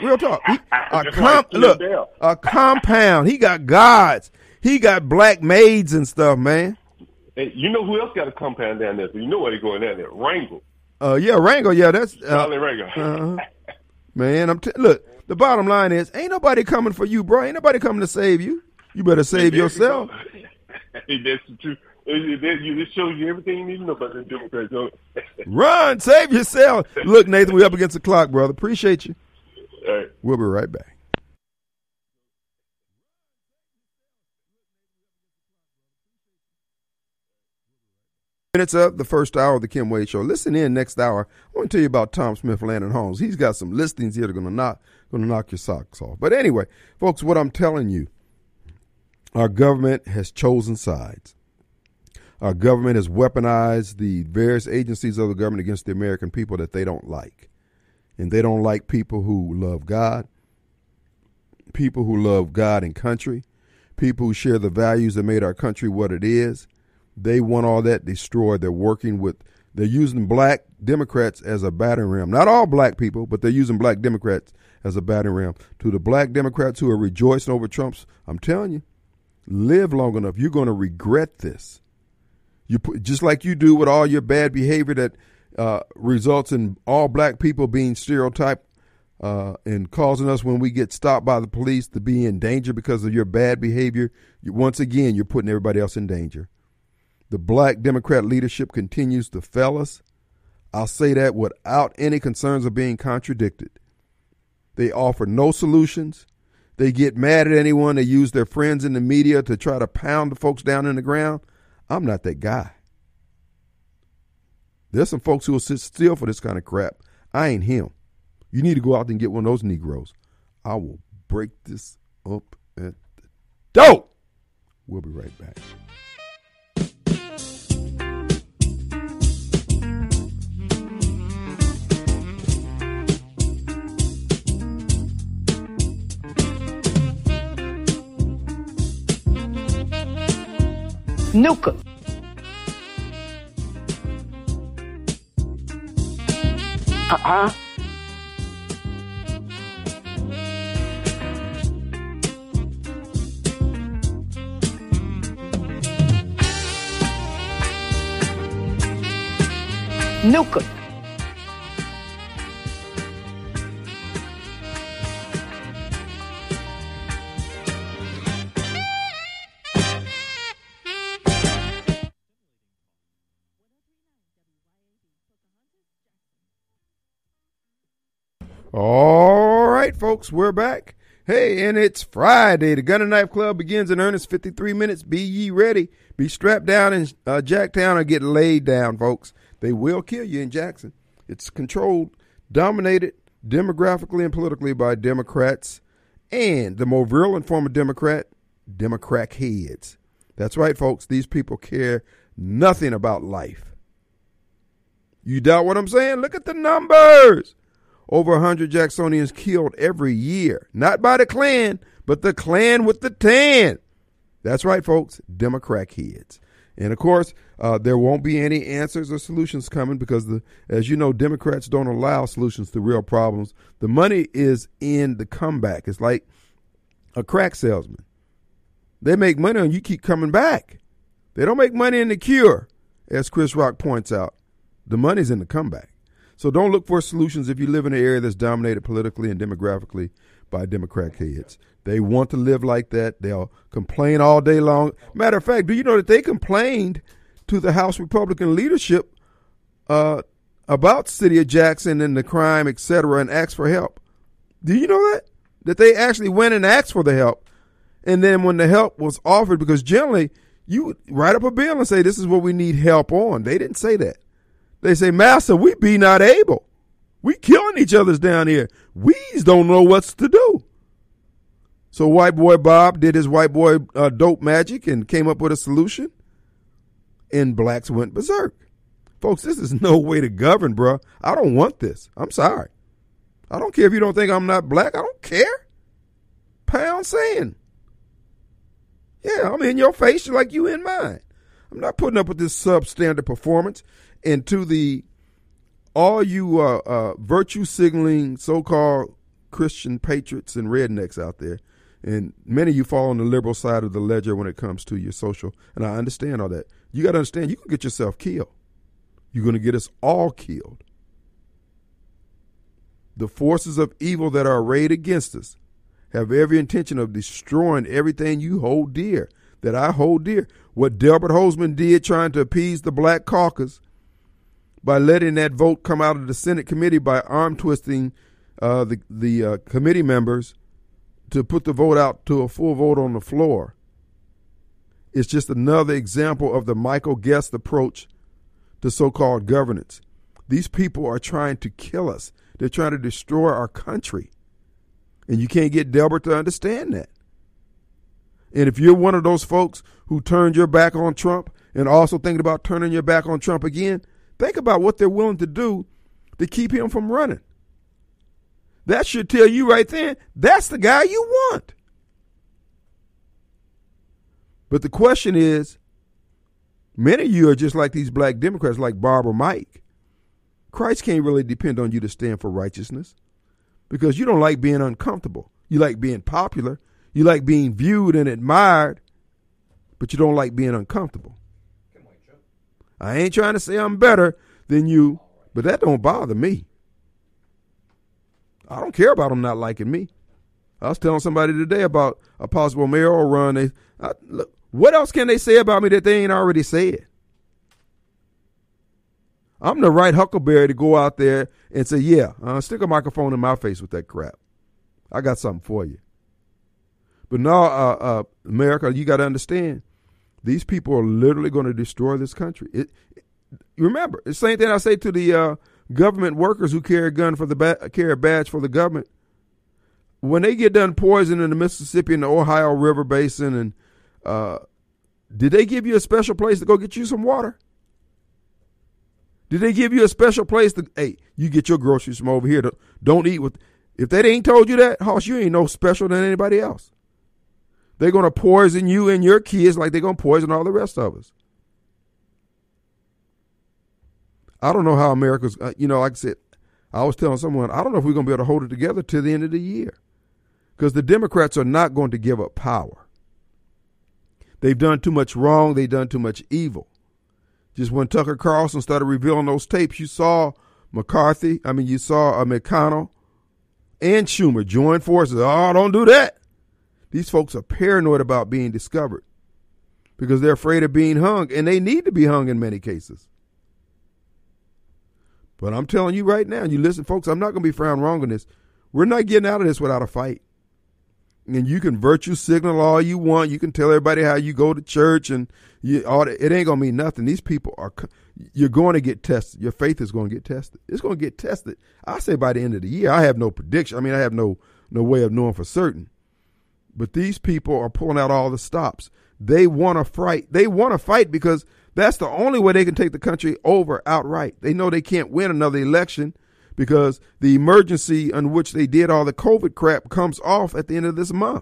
A compound. He got guards. He got black maids and stuff, man. Hey, you know who else got a compound down there? So you know why they're going down there? Wrangell. Wrangell. Yeah, that's Charlie Wrangell. Man, look. The bottom line is, ain't nobody coming for you, bro. Ain't nobody coming to save you. You better save yourself. That's the truth. It shows you everything you need to know about the Democrats. Run, save yourself. Look, Nathan, we up against the clock, brother. Appreciate you. All right. We'll be right back. Minutes up, the first hour of the Kim Wade Show. Listen in next hour. I want to tell you about Tom Smith Land and Homes. He's got some listings here that are going to knock your socks off. But anyway, folks, what I'm telling you, our government has chosen sides. Our government has weaponized the various agencies of the government against the American people that they don't like. And they don't like people who love God and country, people who share the values that made our country what it is. They want all that destroyed. They're using black Democrats as a battering ram. Not all black people, but they're using black Democrats as a battering ram. To the black Democrats who are rejoicing over Trump's, I'm telling you, live long enough. You're going to regret this. Just like you do with all your bad behavior that results in all black people being stereotyped and causing us, when we get stopped by the police, to be in danger because of your bad behavior. Once again, you're putting everybody else in danger. The black Democrat leadership continues to fail us. I'll say that without any concerns of being contradicted. They offer no solutions. They get mad at anyone. They use their friends in the media to try to pound the folks down in the ground. I'm not that guy. There's some folks who will sit still for this kind of crap. I ain't him. You need to go out and get one of those Negroes. I will break this up at the door. We'll be right back. Nuke 'em. Huh? Nuke 'em. All right, folks, we're back. Hey, and it's Friday. The Gun and Knife Club begins in earnest. 53 minutes. Be ye ready. Be strapped down in Jacktown or get laid down, folks. They will kill you in Jackson. It's controlled, dominated demographically and politically by Democrats and the more virulent form of Democrat heads. That's right, folks. These people care nothing about life. You doubt what I'm saying? Look at the numbers. Over 100 Jacksonians killed every year. Not by the Klan, but the Klan with the tan. That's right, folks. Democrat heads. And, of course, there won't be any answers or solutions coming because, as you know, Democrats don't allow solutions to real problems. The money is in the comeback. It's like a crack salesman. They make money and you keep coming back. They don't make money in the cure, as Chris Rock points out. The money's in the comeback. So don't look for solutions if you live in an area that's dominated politically and demographically by Democrat heads. They want to live like that. They'll complain all day long. Matter of fact, do you know that they complained to the House Republican leadership about the city of Jackson and the crime, et cetera, and asked for help? Do you know that? That they actually went and asked for the help. And then when the help was offered, because generally you would write up a bill and say, this is what we need help on. They didn't say that. They say, Master, we be not able. We killing each other's down here. We's don't know what's to do. So white boy Bob did his white boy dope magic and came up with a solution. And blacks went berserk. Folks, this is no way to govern, bro. I don't want this. I'm sorry. I don't care if you don't think I'm not black. I don't care. Pound saying. Yeah, I'm in your face like you in mine. I'm not putting up with this substandard performance. And to all you virtue signaling so-called Christian patriots and rednecks out there, and many of you fall on the liberal side of the ledger when it comes to your social, and I understand all that. You got to understand, you can get yourself killed. You're going to get us all killed. The forces of evil that are arrayed against us have every intention of destroying everything you hold dear, that I hold dear. What Delbert Hosemann did trying to appease the black caucus by letting that vote come out of the Senate committee by arm twisting the committee members to put the vote out to a full vote on the floor. It's just another example of the Michael Guest approach to so-called governance. These people are trying to kill us. They're trying to destroy our country. And you can't get Delbert to understand that. And if you're one of those folks who turned your back on Trump and also thinking about turning your back on Trump again, think about what they're willing to do to keep him from running. That should tell you right then, that's the guy you want. But the question is, many of you are just like these black Democrats like Barbara Mike. Christ can't really depend on you to stand for righteousness because you don't like being uncomfortable. You like being popular. You like being viewed and admired, but you don't like being uncomfortable. I ain't trying to say I'm better than you, but that don't bother me. I don't care about them not liking me. I was telling somebody today about a possible mayoral run. Look, what else can they say about me that they ain't already said? I'm the right huckleberry to go out there and say, yeah, stick a microphone in my face with that crap. I got something for you. But now, America, you got to understand, these people are literally going to destroy this country. Remember, it's the same thing I say to the government workers who carry a gun carry a badge for the government. When they get done poisoning the Mississippi and the Ohio River Basin, and did they give you a special place to go get you some water? Did they give you a special place to, hey, you get your groceries from over here. Don't eat with, if they ain't told you that, Hoss, you ain't no special than anybody else. They're going to poison you and your kids like they're going to poison all the rest of us. I don't know how America's, like I said, I was telling someone, I don't know if we're going to be able to hold it together till the end of the year. Because the Democrats are not going to give up power. They've done too much wrong. They've done too much evil. Just when Tucker Carlson started revealing those tapes, you saw you saw McConnell and Schumer join forces. Oh, don't do that. These folks are paranoid about being discovered because they're afraid of being hung, and they need to be hung in many cases. But I'm telling you right now, you listen, folks, I'm not going to be found wrong on this. We're not getting out of this without a fight. And you can virtue signal all you want. You can tell everybody how you go to church and it ain't going to mean nothing. These people you're going to get tested. Your faith is going to get tested. It's going to get tested. I say by the end of the year. I have no prediction. I have no way of knowing for certain. But these people are pulling out all the stops. They want to fight. They want to fight because that's the only way they can take the country over outright. They know they can't win another election because the emergency on which they did all the COVID crap comes off at the end of this month.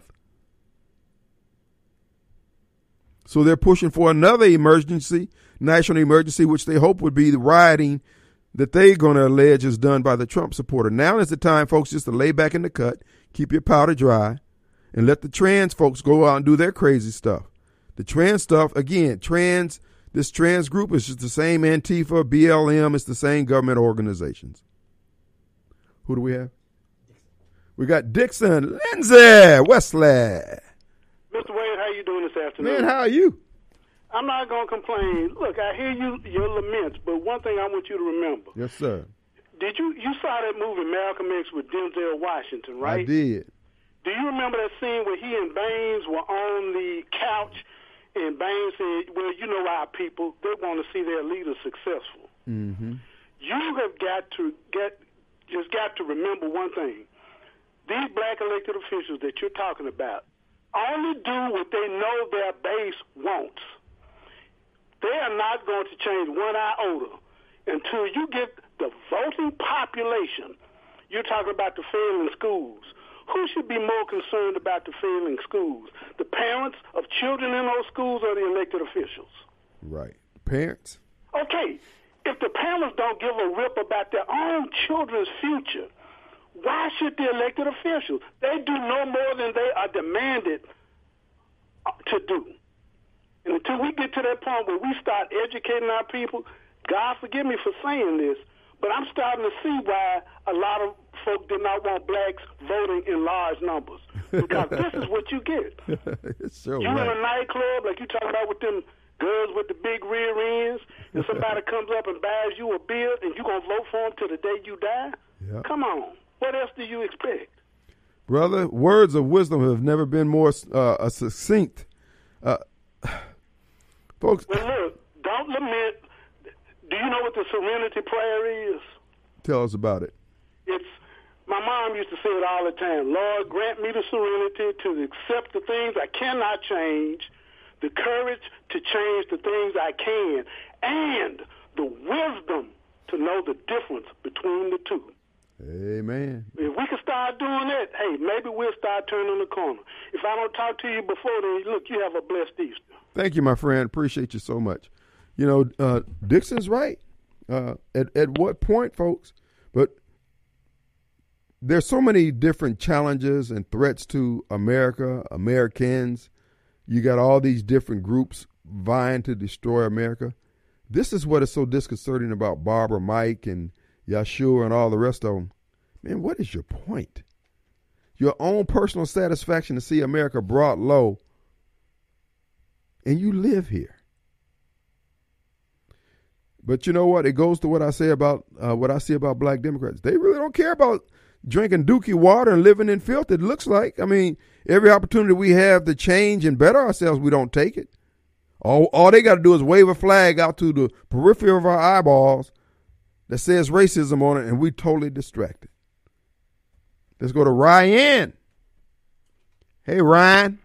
So they're pushing for another emergency, national emergency, which they hope would be the rioting that they're going to allege is done by the Trump supporter. Now is the time, folks, just to lay back in the cut, keep your powder dry, and let the trans folks go out and do their crazy stuff. The trans stuff, again, this trans group is just the same Antifa, BLM, it's the same government organizations. Who do we have? We got Dixon, Lindsay, Wesley. Mr. Wade, how you doing this afternoon? Man, how are you? I'm not going to complain. Look, I hear your laments, but one thing I want you to remember. Yes, sir. You saw that movie Malcolm X with Denzel Washington, right? I did. Do you remember that scene where he and Baines were on the couch and Baines said, well, you know our people, they want to see their leaders successful. Mm-hmm. You have got to remember one thing. These black elected officials that you're talking about only do what they know their base wants. They are not going to change one iota until you get the voting population. You're talking about the failing schools. Who should be more concerned about the failing schools? The parents of children in those schools or the elected officials? Right. Parents. Okay. If the parents don't give a rip about their own children's future, why should the elected officials? They do no more than they are demanded to do. And until we get to that point where we start educating our people, God forgive me for saying this, but I'm starting to see why a lot of folk did not want blacks voting in large numbers. Because this is what you get. It's so you right. in a nightclub, like you talking about with them girls with the big rear ends, and somebody comes up and buys you a beer, and you going to vote for them till the day you die? Yep. Come on. What else do you expect? Brother, words of wisdom have never been more succinct. Folks. Well, look, don't lament. Do you know what the serenity prayer is? Tell us about it. My mom used to say it all the time. Lord, grant me the serenity to accept the things I cannot change, the courage to change the things I can, and the wisdom to know the difference between the two. Amen. If we can start doing that, hey, maybe we'll start turning the corner. If I don't talk to you before then, look, you have a blessed Easter. Thank you, my friend. Appreciate you so much. You know, Dixon's right. At what point, folks? But there's so many different challenges and threats to America, Americans. You got all these different groups vying to destroy America. This is what is so disconcerting about Barbara, Mike, and Yeshua and all the rest of them. Man, what is your point? Your own personal satisfaction to see America brought low, and you live here. But you know what? It goes to what I say about what I see about black Democrats. They really don't care about drinking dookie water and living in filth, it looks like. I mean, every opportunity we have to change and better ourselves, we don't take it. All they got to do is wave a flag out to the periphery of our eyeballs that says racism on it, and we totally distracted. Let's go to Ryan. Hey, Ryan.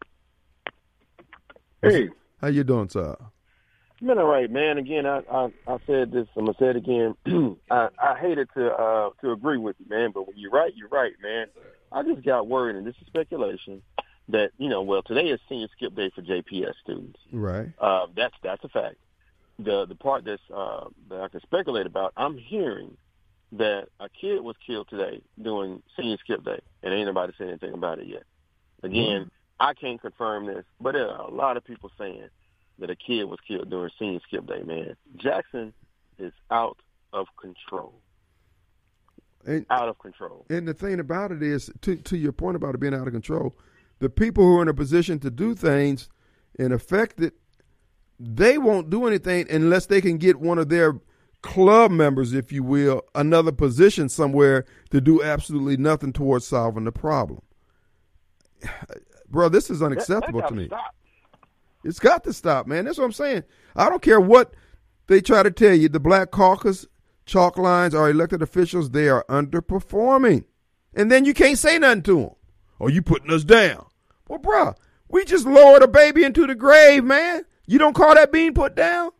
Hey. How you doing, sir? I'm all right, man. Again, I said this. I'm gonna say it again. I hated to agree with you, man. But when you're right, man. I just got worried, and this is speculation, that, well, today is senior skip day for JPS students. Right. That's a fact. The part that I can speculate about, I'm hearing that a kid was killed today doing senior skip day, and ain't nobody said anything about it yet. Again, I can't confirm this, but there are a lot of people saying that a kid was killed during senior skip day, man. Jackson is out of control. Out of control. And the thing about it is, to your point about it being out of control, the people who are in a position to do things and affect it, they won't do anything unless they can get one of their club members, if you will, another position somewhere to do absolutely nothing towards solving the problem. Bro, this is unacceptable to me. Stop. It's got to stop, man. That's what I'm saying. I don't care what they try to tell you. The Black Caucus, chalk lines, our elected officials, they are underperforming. And then you can't say nothing to them. Oh, you putting us down. Well, bro, we just lowered a baby into the grave, man. You don't call that being put down?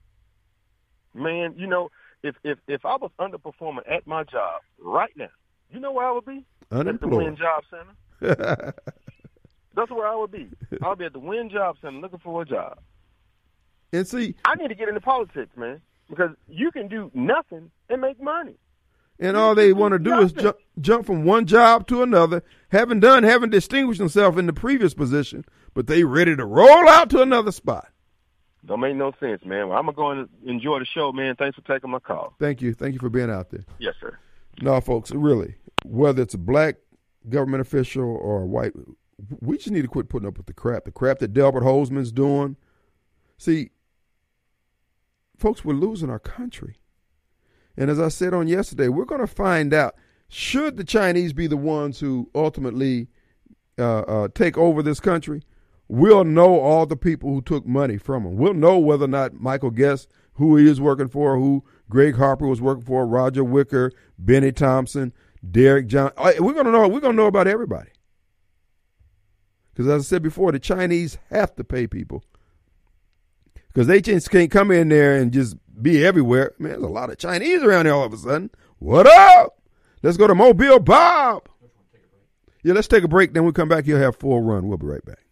Man, if I was underperforming at my job right now, you know where I would be? Unemployed. At the Wynn Job Center. That's where I would be. I would be at the Wynn Job Center looking for a job. And see, I need to get into politics, man, because you can do nothing and make money. And all they want to do is jump from one job to another, haven't distinguished themselves in the previous position, but they ready to roll out to another spot. Don't make no sense, man. Well, I'm going to go and enjoy the show, man. Thanks for taking my call. Thank you. Thank you for being out there. Yes, sir. No, folks, really, whether it's a black government official or a white, we just need to quit putting up with the crap that Delbert Hoseman's doing. See, folks, we're losing our country. And as I said on yesterday, we're going to find out, should the Chinese be the ones who ultimately take over this country, we'll know all the people who took money from them. We'll know whether or not Michael Guest, who he is working for, who Greg Harper was working for, Roger Wicker, Benny Thompson, Derek John. We're going to know about everybody. Because as I said before, the Chinese have to pay people. Because they just can't come in there and just be everywhere. Man, there's a lot of Chinese around here all of a sudden. What up? Let's go to Mobile Bob. Yeah, let's take a break. Then we'll come back. He'll have full run. We'll be right back.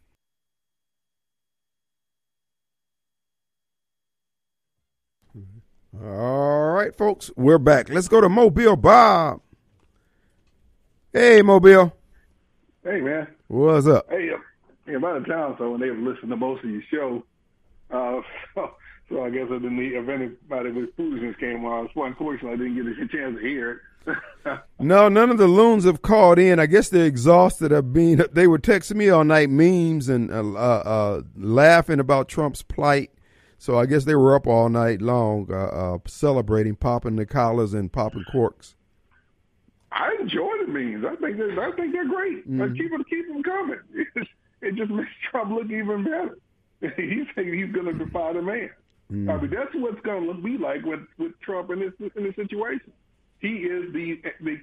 All right, folks, we're back. Let's go to Mobile Bob. Hey, Mobile. Hey, man. What's up? Hey, I'm out of town, so I wasn't able to listen to most of your show. So I guess if anybody with foolishness came on, unfortunately, I didn't get a chance to hear it. No, none of the loons have called in. I guess they're exhausted of being. They were texting me all night, memes and laughing about Trump's plight. So I guess they were up all night long, celebrating, popping the collars and popping corks. I enjoy the memes. I think they're great. Mm-hmm. Keep them coming. It just makes Trump look even better. He's saying he's going to defy the man. Mm-hmm. I mean, that's what's going to be like with Trump in this situation. He is the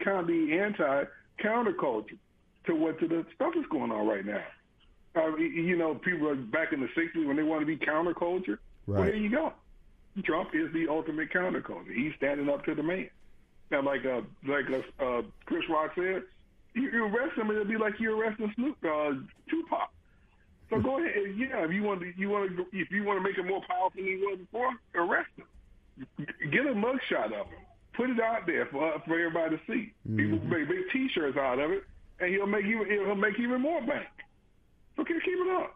anti-counterculture to the stuff that's going on right now. People are back in the 60s when they want to be counterculture. Right. Well, there you go. Trump is the ultimate counterculture. He's standing up to the man. Now, like Chris Rock said, you arrest him, and it'll be like you arresting Tupac. So go ahead. Yeah, if you want to make him more powerful than he was before, arrest him. Get a mugshot of him. Put it out there for everybody to see. Mm-hmm. People make big T-shirts out of it, and he'll make even more bank. So keep it up.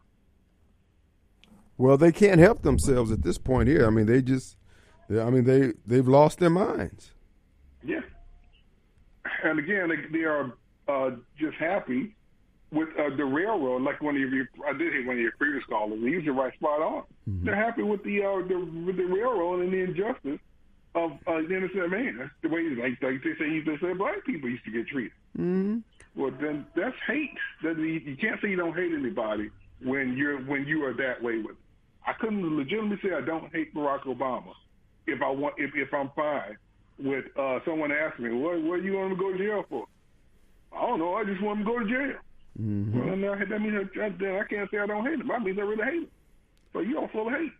Well, they can't help themselves at this point here. I mean, they've lost their minds. Yeah. And again, they are just happy with the railroad. Like I did hear one of your previous callers. He was right spot on. Mm-hmm. They're happy with the railroad and the injustice of the innocent man. That's the way, like they say black people used to get treated. Mm-hmm. Well, then that's hate. You can't say you don't hate anybody when you are that way with them. I couldn't legitimately say I don't hate Barack Obama if I'm fine with someone asking me, what do you want him to go to jail for? I don't know. I just want him to go to jail. Mm-hmm. Well, now, that means I can't say I don't hate him. That means I really hate him. So you don't full of hate.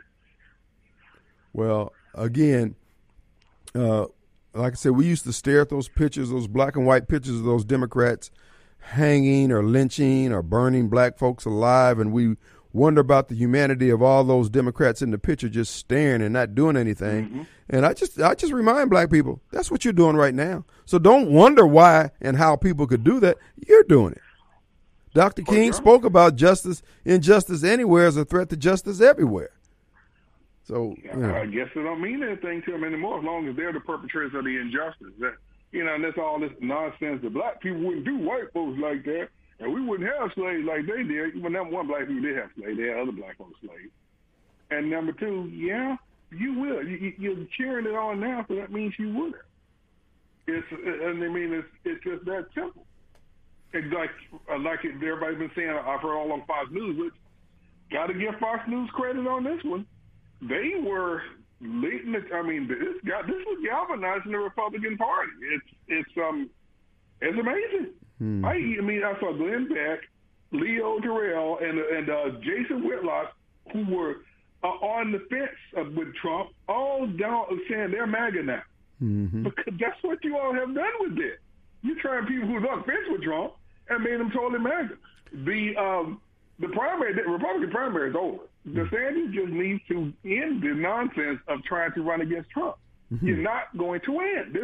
Well, again, like I said, we used to stare at those pictures, those black and white pictures of those Democrats hanging or lynching or burning black folks alive, and we wonder about the humanity of all those Democrats in the picture just staring and not doing anything. Mm-hmm. And I just remind black people, that's what you're doing right now. So don't wonder why and how people could do that. You're doing it. Dr. King spoke about injustice anywhere as a threat to justice everywhere. So I guess it don't mean anything to them anymore as long as they're the perpetrators of the injustice. That, and that's all this nonsense that black people wouldn't do white folks like that, and we wouldn't have slaves like they did. Even number one, black people did have slaves. They had other black folks slaves. And number two, yeah, you will. You're cheering it on now, so that means you would. It's just that simple. It's like everybody's been saying, I've heard all on Fox News, which got to give Fox News credit on this one. They were leading. This was galvanizing the Republican Party. It's amazing. I saw Glenn Beck, Leo Terrell, and Jason Whitlock, who were on the fence with Trump, all down saying they're MAGA now. Mm-hmm. Because that's what you all have done with it. You trying people who's on the fence with Trump and made them totally MAGA. The Republican primary is over. DeSantis just needs to end the nonsense of trying to run against Trump. Mm-hmm. You're not going to win.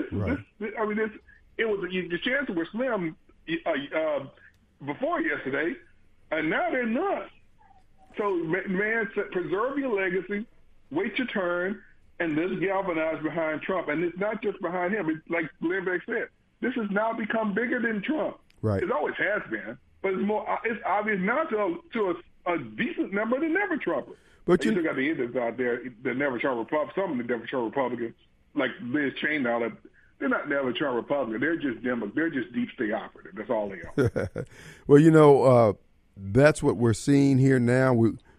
The chances were slim before yesterday, and now they're none. So, man, preserve your legacy, wait your turn, and let's galvanize behind Trump. And it's not just behind him. It's like Glenn Beck said, this has now become bigger than Trump. Right. It always has been, but it's obvious now to a decent number of the never Trumpers. But you still got the idiots out there that never Trump Republicans. Some of the never Trump Republicans, like Liz Cheney, all that. They're not never Trump Republicans. They're just They're just deep state operatives. That's all they are. Well, that's what we're seeing here now.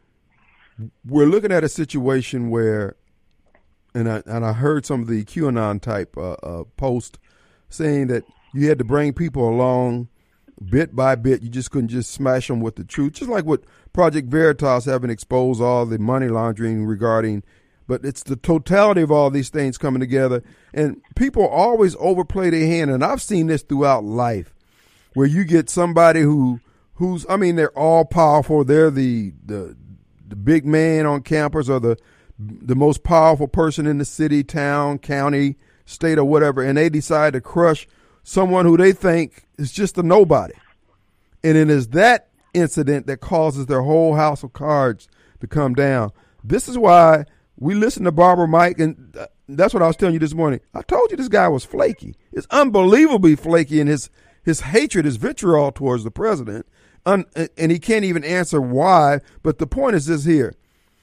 We're looking at a situation where, and I heard some of the QAnon type post saying that you had to bring people along bit by bit. You just couldn't just smash them with the truth, just like what Project Veritas having exposed all the money laundering regarding. But it's the totality of all these things coming together, and people always overplay their hand. And I've seen this throughout life, where you get somebody who's they're all powerful. They're the big man on campus, or the most powerful person in the city, town, county, state, or whatever, and they decide to crush someone who they think is just a nobody. And it is that incident that causes their whole house of cards to come down. This is why we listen to Barbara Mike, and that's what I was telling you this morning. I told you this guy was flaky. It's unbelievably flaky in his hatred, his vitriol towards the president, and he can't even answer why. But the point is this here.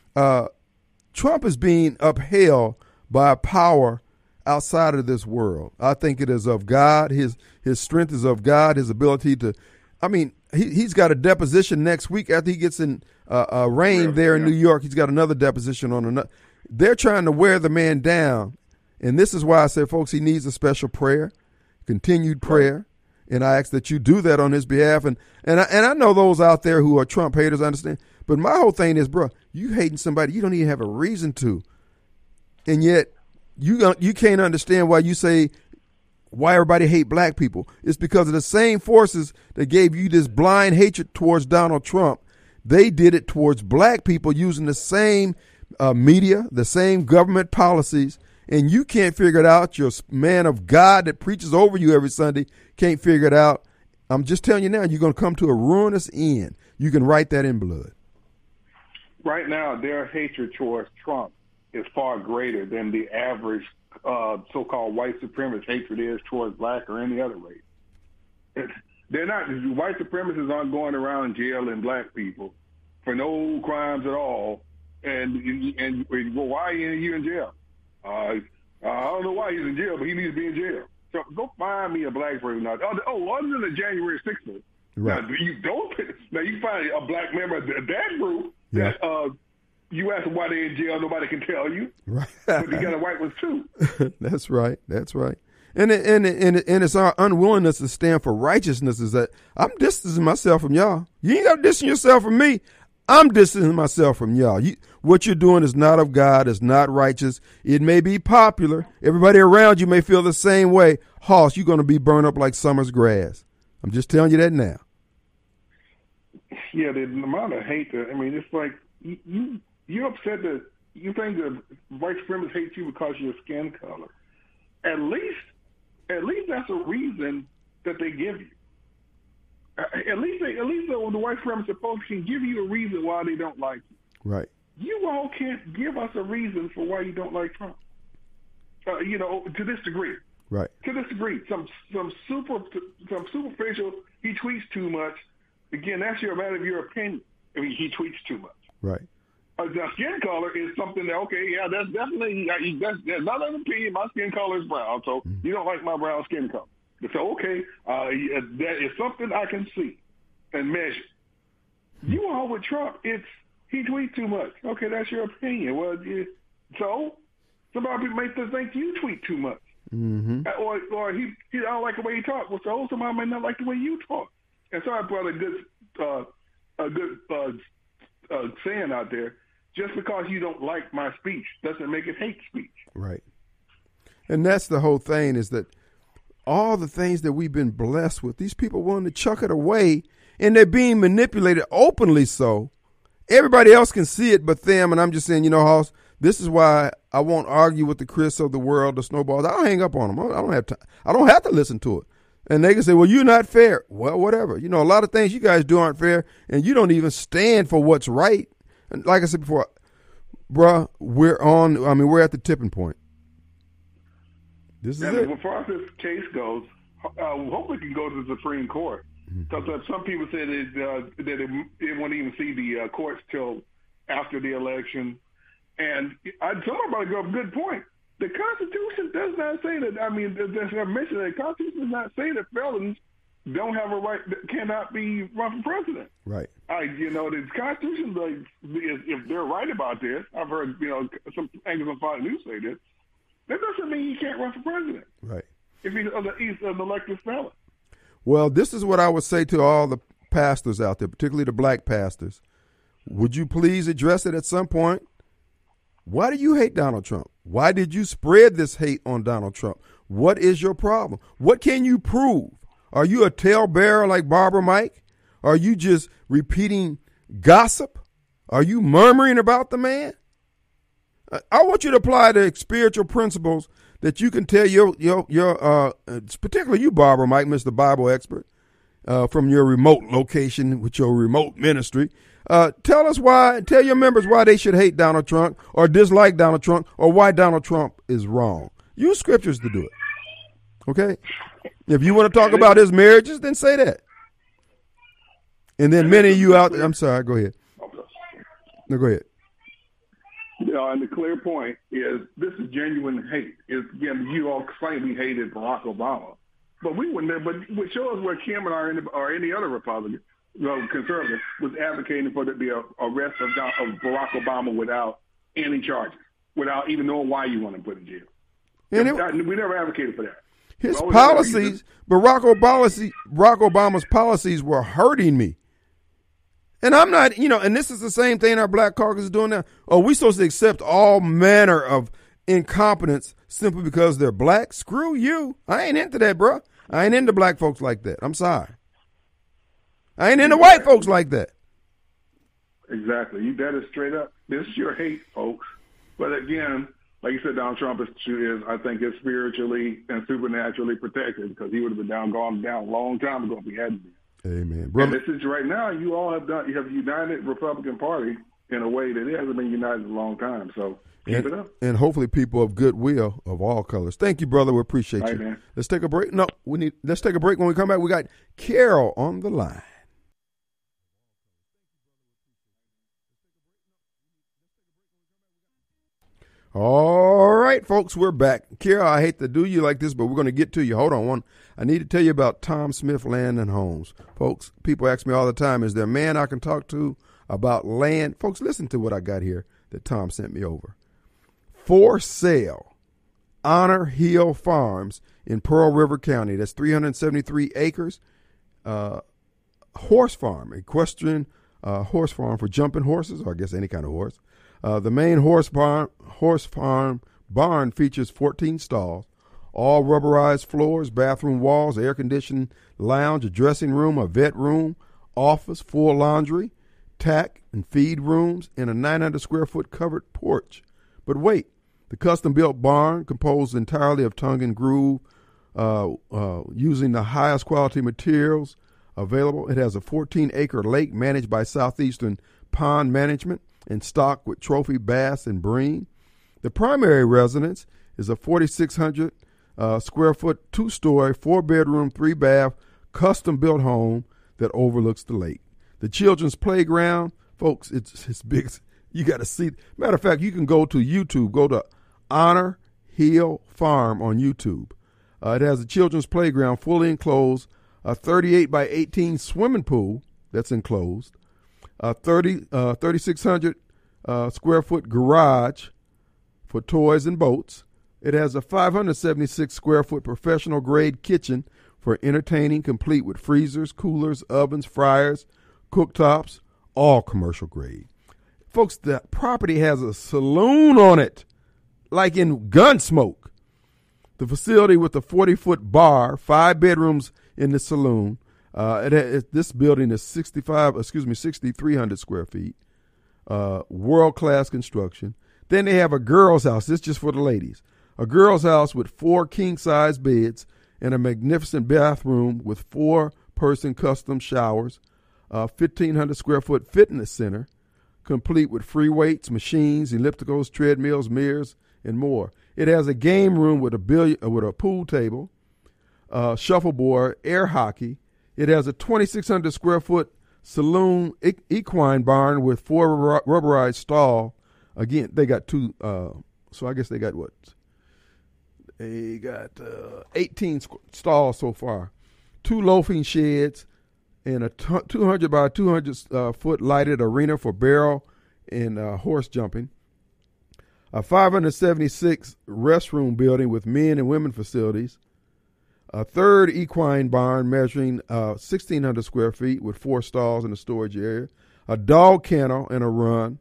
Trump is being upheld by a power outside of this world. I think it is of God. His strength is of God. His ability to, he's got a deposition next week after he gets in arraigned there in New York. He's got another deposition on another. They're trying to wear the man down. And this is why I say, folks, he needs a special prayer, continued prayer. And I ask that you do that on his behalf. And I know those out there who are Trump haters, I understand. But my whole thing is, bro, you hating somebody you don't even have a reason to. And yet you can't understand why you say why everybody hate black people. It's because of the same forces that gave you this blind hatred towards Donald Trump. They did it towards black people using the same media, the same government policies, and you can't figure it out. You're a man of God that preaches over you every Sunday, can't figure it out. I'm just telling you now, you're going to come to a ruinous end. You can write that in blood. Right now, their hatred towards Trump is far greater than the average so-called white supremacist hatred is towards black or any other race. They're not. White supremacists aren't going around jailing black people for no crimes at all. And well, why are you in jail? I don't know why he's in jail, but he needs to be in jail. So go find me a black person. Other than the January 6th. Right. Now you find a black member of that group that you ask them why they're in jail, nobody can tell you. Right. But you got a white ones too. That's right. And it's our unwillingness to stand for righteousness is that I'm distancing myself from y'all. You ain't got to distance yourself from me. I'm distancing myself from y'all. What you're doing is not of God. It's not righteous. It may be popular. Everybody around you may feel the same way. Hoss, you're going to be burned up like summer's grass. I'm just telling you that now. Yeah, the amount of hate. It's like you're upset that you think that white supremacists hate you because of your skin color. At least that's a reason that they give you. At least the white supremacist folks can give you a reason why they don't like you. Right. You all can't give us a reason for why you don't like Trump. To this degree. Right. To this degree, some superficial. He tweets too much. Again, that's a matter of your opinion. He tweets too much. Right. The skin color is something that that's definitely that's not an opinion. My skin color is brown, so you don't like my brown skin color. So that is something I can see and measure. You all with Trump, he tweets too much. Okay, that's your opinion. Well, so somebody may think you tweet too much, or he don't like the way you talk. Well, so somebody may not like the way you talk. And so I brought a good saying out there. Just because you don't like my speech doesn't make it hate speech. Right. And that's the whole thing, is that all the things that we've been blessed with, these people want to chuck it away, and they're being manipulated openly so. Everybody else can see it but them, and I'm just saying, Hoss, this is why I won't argue with the Chris of the world, the Snowballs. I don't hang up on them. I don't have time. I don't have to listen to it. And they can say, well, you're not fair. Well, whatever. A lot of things you guys do aren't fair, and you don't even stand for what's right. And like I said before, bruh, we're at the tipping point. This is it. As far as this case goes, hopefully it can go to the Supreme Court. Because some people said that they won't even see the courts till after the election. And somebody brought up a good point. The Constitution does not say that. There's a mention that the Constitution does not say that felons don't have a right, cannot be run for president. Right. The Constitution, if they're right about this, I've heard, some anchors on Fox News say this, that doesn't mean he can't run for president. Right. If he's an elected felon. Well, this is what I would say to all the pastors out there, particularly the black pastors. Would you please address it at some point? Why do you hate Donald Trump? Why did you spread this hate on Donald Trump? What is your problem? What can you prove? Are you a talebearer like Barbara Mike? Are you just repeating gossip? Are you murmuring about the man? I want you to apply the spiritual principles that you can tell your particularly you, Barbara Mike, Mr. Bible expert, from your remote location with your remote ministry. Tell your members why they should hate Donald Trump or dislike Donald Trump or why Donald Trump is wrong. Use scriptures to do it. Okay? If you want to talk about his marriages, then say that. And then many of you out there, I'm sorry, go ahead. No, go ahead. And the clear point is this is genuine hate. Again, you all claim we hated Barack Obama, but we wouldn't. But what shows where Kim and or any other Republican, conservative, was advocating for the arrest of Barack Obama without any charges, without even knowing why you want to put in jail. And we never advocated for that. His policies, Barack Obama's policies were hurting me. And I'm not, and this is the same thing our black caucus is doing now. Oh, we supposed to accept all manner of incompetence simply because they're black? Screw you. I ain't into that, bro. I ain't into black folks like that. I'm sorry. I ain't into white folks like that. Exactly. That is straight up. This is your hate, folks. But again, like you said, Donald Trump is I think, is spiritually and supernaturally protected because he would have been gone down a long time ago if he hadn't been. Amen. Brother. And this is right now, you have united Republican Party in a way that it hasn't been united in a long time. So keep it up. And hopefully people of goodwill of all colors. Thank you, brother. We appreciate you. Man. Let's take a break. No, let's take a break. When we come back, we got Carol on the line. All right, folks, we're back. Carol, I hate to do you like this, but we're going to get to you. Hold on. I need to tell you about Tom Smith Land and Homes. Folks, people ask me all the time, is there a man I can talk to about land? Folks, listen to what I got here that Tom sent me over. For sale, Honor Hill Farms in Pearl River County. That's 373 acres. Horse farm, equestrian horse farm for jumping horses, or I guess any kind of horse. The main horse farm barn features 14 stalls. all rubberized floors, bathroom walls, air-conditioned lounge, a dressing room, a vet room, office, full laundry, tack and feed rooms, and a 900-square-foot covered porch. But wait, the custom-built barn, composed entirely of tongue and groove, using the highest quality materials available. It has a 14-acre lake managed by Southeastern Pond Management and stocked with trophy bass and bream. The primary residence is a 4,600 square foot, 2-story, 4-bedroom, 3-bath, custom-built home that overlooks the lake. The children's playground, folks, it's big. You got to see. Matter of fact, you can go to YouTube. Go to Honor Hill Farm on YouTube. It has a children's playground, fully enclosed, a 38 by 18 swimming pool that's enclosed, a 3,600 square foot garage for toys and boats. It has a 576 square foot professional grade kitchen for entertaining, complete with freezers, coolers, ovens, fryers, cooktops, all commercial grade. Folks, the property has a saloon on it, like in Gunsmoke. The facility with a 40-foot bar, 5 bedrooms in the saloon. This building is 6,300 square feet. World-class construction. Then they have a girls' house. This is just for the ladies. A girls' house with 4 king-size beds and a magnificent bathroom with 4-person custom showers. 1,500 square foot fitness center, complete with free weights, machines, ellipticals, treadmills, mirrors, and more. It has a game room with a pool table, shuffleboard, air hockey. It has a 2,600 square foot saloon equine barn with 4 rubberized stall. Again, they got 2. So I guess they got what? They got 18 stalls so far. 2 loafing sheds and a 200 by 200 foot lighted arena for barrel and horse jumping. A 576 restroom building with men and women facilities. A 3rd equine barn measuring 1,600 square feet with 4 stalls in the storage area. A dog kennel and a run.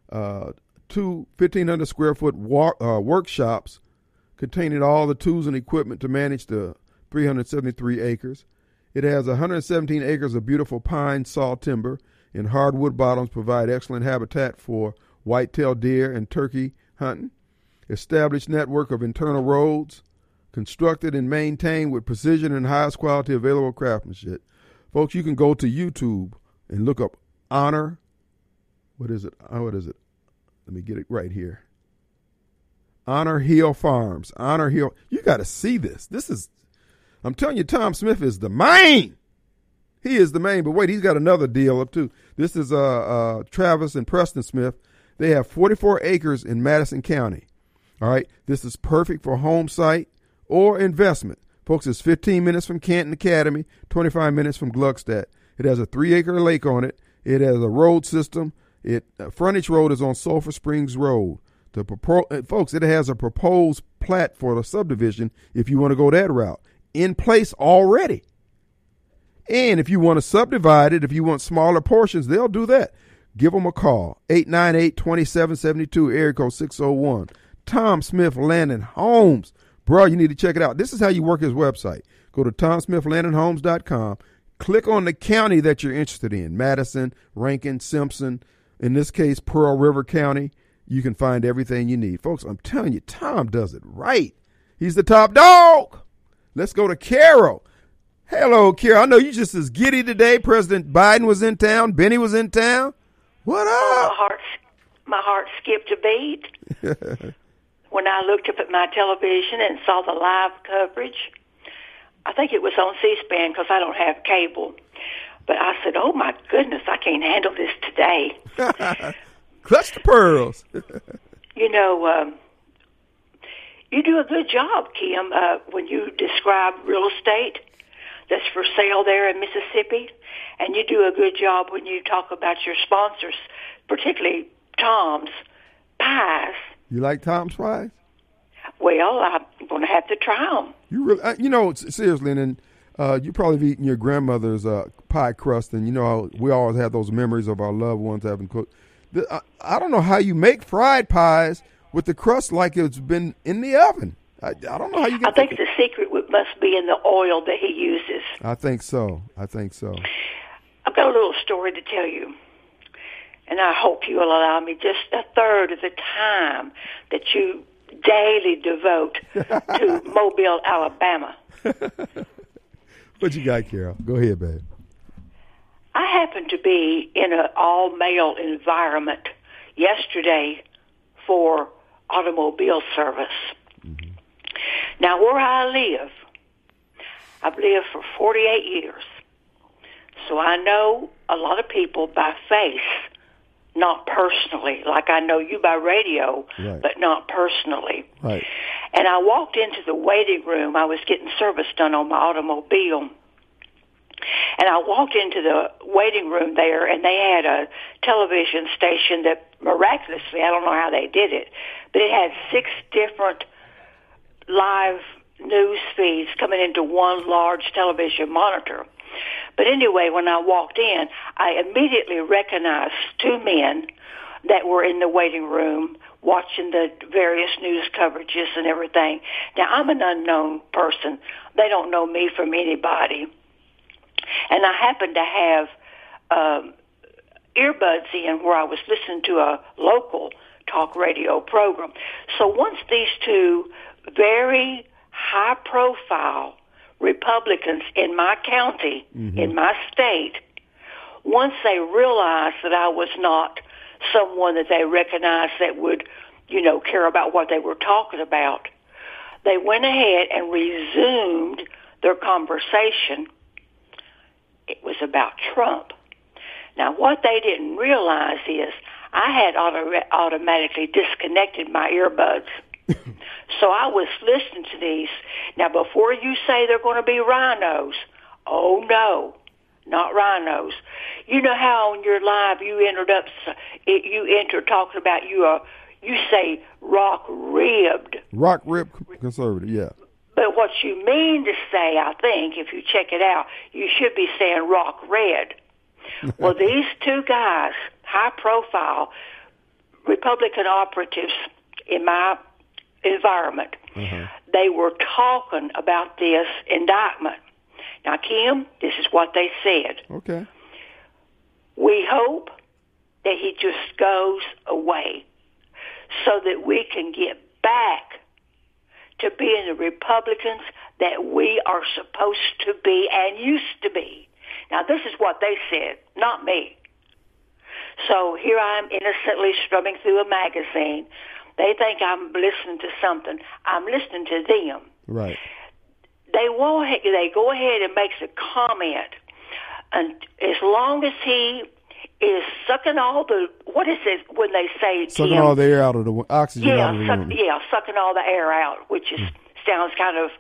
2 1,500 square foot workshops containing all the tools and equipment to manage the 373 acres. It has 117 acres of beautiful pine saw timber, and hardwood bottoms provide excellent habitat for white-tailed deer and turkey hunting. Established network of internal roads, constructed and maintained with precision and highest quality available craftsmanship. Folks, you can go to YouTube and look up Honor. What is it? Let me get it right here. Honor Hill Farms. Honor Hill. You got to see this. I'm telling you, Tom Smith is the main. He is the main. But wait, he's got another deal up too. This is Travis and Preston Smith. They have 44 acres in Madison County. All right. This is perfect for home site or investment. Folks, it's 15 minutes from Canton Academy, 25 minutes from Gluckstadt. It has a 3-acre lake on it. It has a road system. Frontage road is on Sulphur Springs Road. Folks, it has a proposed plat for the subdivision if you want to go that route. In place already. And if you want to subdivide it, if you want smaller portions, they'll do that. Give them a call. 898-2772, area code 601. Tom Smith Land and Homes. Bro, you need to check it out. This is how you work his website. Go to TomSmithLandandHomes.com. Click on the county that you're interested in. Madison, Rankin, Simpson. In this case, Pearl River County. You can find everything you need. Folks, I'm telling you, Tom does it right. He's the top dog. Let's go to Carol. Hello, Carol. I know you just as giddy today. President Biden was in town. Benny was in town. What up? My heart skipped a beat when I looked up at my television and saw the live coverage. I think it was on C-SPAN because I don't have cable. But I said, oh, my goodness, I can't handle this today. Clutch the pearls. You do a good job, Kim, when you describe real estate that's for sale there in Mississippi. And you do a good job when you talk about your sponsors, particularly Tom's Pies. You like Tom's Pies? Well, I'm going to have to try them. You really, seriously, and you probably have eaten your grandmother's pie crust, and we always have those memories of our loved ones having cooked. I don't know how you make fried pies with the crust like it's been in the oven. I don't know how you I get. think the secret must be in the oil that he uses. I think so. I've got a little story to tell you, and I hope you will allow me just a third of the time that you daily devote to Mobile, Alabama. What you got, Carol? Go ahead, babe. I happened to be in an all-male environment yesterday for automobile service. Mm-hmm. Now, where I live, I've lived for 48 years, so I know a lot of people by face, not personally, like I know you by radio, right, but not personally. Right. And I walked into the waiting room. I was getting service done on my automobile. And I walked into the waiting room there, and they had a television station that miraculously, I don't know how they did it, but it had 6 different live news feeds coming into one large television monitor. But anyway, when I walked in, I immediately recognized 2 men that were in the waiting room watching the various news coverages and everything. Now, I'm an unknown person. They don't know me from anybody. And I happened to have earbuds in where I was listening to a local talk radio program. So once these 2 very high-profile Republicans in my county, mm-hmm, in my state, once they realized that I was not someone that they recognized that would, care about what they were talking about, they went ahead and resumed their conversation. It was about Trump. Now, what they didn't realize is I had automatically disconnected my earbuds. So I was listening to these. Now, before you say they're going to be rhinos, oh, no, not rhinos. You know how on your live you enter talking about you say rock-ribbed. Rock-ribbed conservative, yeah. But what you mean to say, I think, if you check it out, you should be saying rock red. Well, these 2 guys, high-profile Republican operatives in my environment, uh-huh, they were talking about this indictment. Now, Kim, this is what they said. Okay. We hope that he just goes away so that we can get back to being the Republicans that we are supposed to be and used to be. Now, this is what they said, not me. So here I am innocently strumming through a magazine. They think I'm listening to something. I'm listening to them. Right. They go ahead and makes a comment, and as long as he is sucking all the, what is it when they say sucking all the air out of the oxygen out of the room? Yeah, sucking all the air out, which is sounds kind of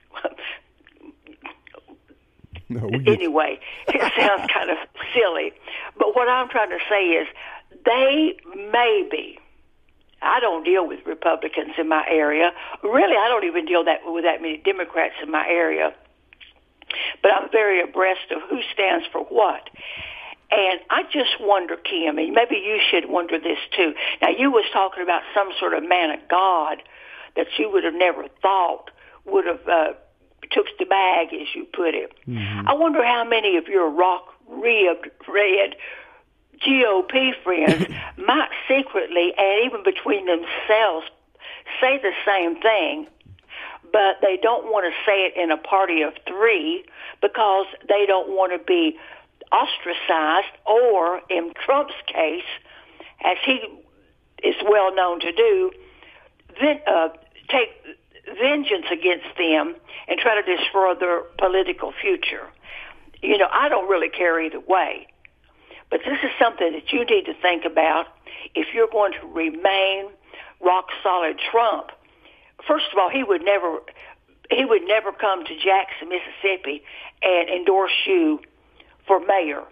anyway, it sounds kind of silly. But what I'm trying to say is they maybe, I don't deal with Republicans in my area. Really, I don't even deal with that many Democrats in my area. But I'm very abreast of who stands for what. And I just wonder, Kim, and maybe you should wonder this too. Now, you was talking about some sort of man of God that you would have never thought would have took the bag, as you put it. Mm-hmm. I wonder how many of your rock-ribbed red GOP friends might secretly, and even between themselves, say the same thing, but they don't want to say it in a party of 3 because they don't want to be ostracized, or in Trump's case, as he is well known to do, take vengeance against them and try to destroy their political future. I don't really care either way. But this is something that you need to think about if you're going to remain rock-solid Trump. First of all, he would never come to Jackson, Mississippi, and endorse you for mayor.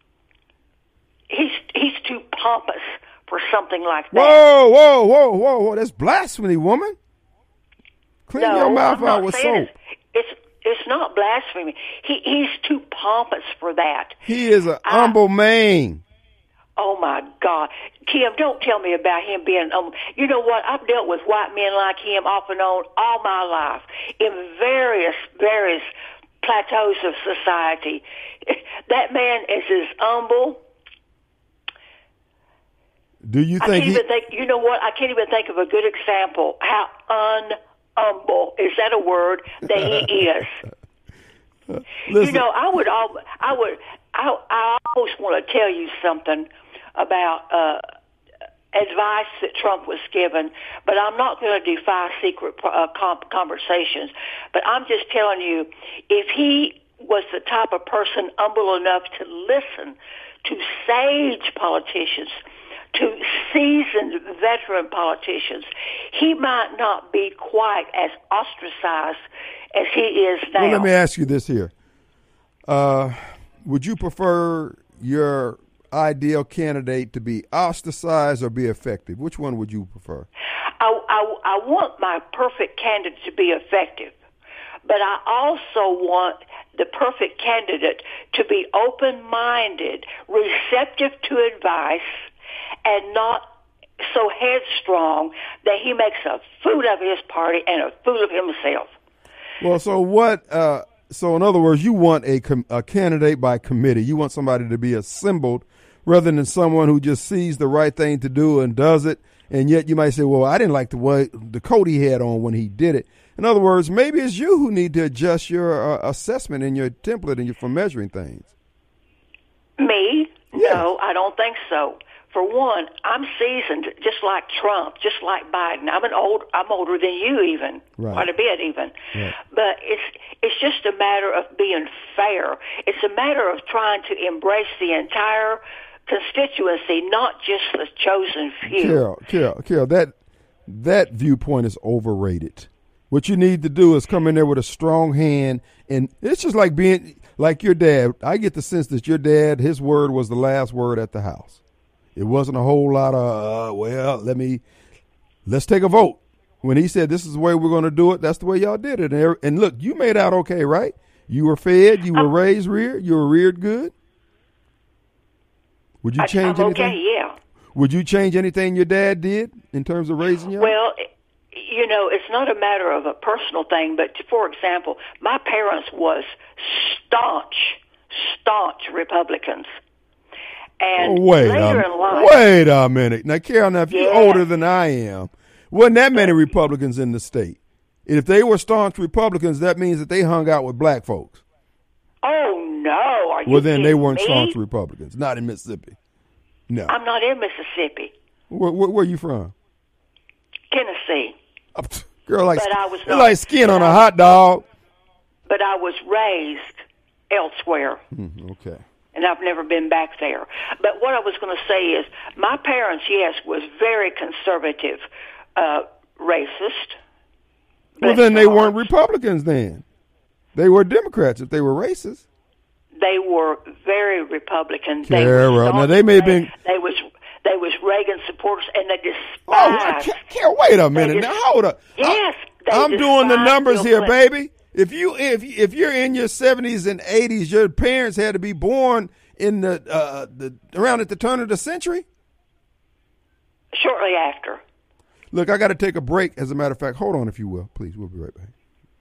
He's too pompous for something like that. Whoa! That's blasphemy, woman. Clean your mouth out with soap. It's not blasphemy. He's too pompous for that. He is an humble man. Oh, my God. Kim, don't tell me about him being, you know what? I've dealt with white men like him off and on all my life in various plateaus of society. That man is as humble. Do you think you know what? I can't even think of a good example how unhumble, is that a word, that he is. Listen. You know, I always want to tell you something about advice that Trump was given, but I'm not going to defy secret conversations. But I'm just telling you, if he was the type of person humble enough to listen to sage politicians, to seasoned veteran politicians, he might not be quite as ostracized as he is now. Well, let me ask you this here. Would you prefer your ideal candidate to be ostracized or be effective? Which one would you prefer? I want my perfect candidate to be effective, but I also want the perfect candidate to be open-minded, receptive to advice, and not so headstrong that he makes a fool of his party and a fool of himself. Well, so what? So in other words, you want a candidate by committee. You want somebody to be assembled rather than someone who just sees the right thing to do and does it. And yet you might say, well, I didn't like the coat he had on when he did it. In other words, maybe it's you who need to adjust your assessment and your template for measuring things. Me? Yes. No, I don't think so. For one, I'm seasoned, just like Trump, just like Biden. I'm older than you, even right. Quite a bit, even. Right. But it's just a matter of being fair. It's a matter of trying to embrace the entire constituency, not just the chosen few. Carol, that viewpoint is overrated. What you need to do is come in there with a strong hand, and it's just like being like your dad. I get the sense that your dad, his word was the last word at the house. It wasn't a whole lot of, let's take a vote. When he said this is the way we're going to do it, that's the way y'all did it. And look, you made out okay, right? You were fed, you were raised reared, you were reared good. Would you change anything? Okay, yeah. Would you change anything your dad did in terms of raising you? Well, you know, it's not a matter of a personal thing, but for example, my parents was staunch Republicans. And wait a minute. Now, Carol, if you're older than I am, wasn't that many Republicans in the state? And if they were staunch Republicans, that means that they hung out with black folks. Oh, no. Are you Well, then they weren't me? staunch Republicans. Not in Mississippi. No. I'm not in Mississippi. Where are you from? Tennessee. Girl, like, but I was not, like skin on a hot dog. But I was raised elsewhere. Okay. And I've never been back there. But what I was going to say is my parents, yes, was very conservative, racist. Well, then they weren't Republicans then. They were Democrats if they were racist. They were very Republican. Carol, now they may have been. They was Reagan supporters, and they despised. Oh, Carol, wait a minute. Now hold up. Yes, I'm doing the numbers here, baby. If you're in your 70s and 80s, your parents had to be born in the around at the turn of the century. Shortly after. Look, I got to take a break. As a matter of fact, hold on if you will, please. We'll be right back.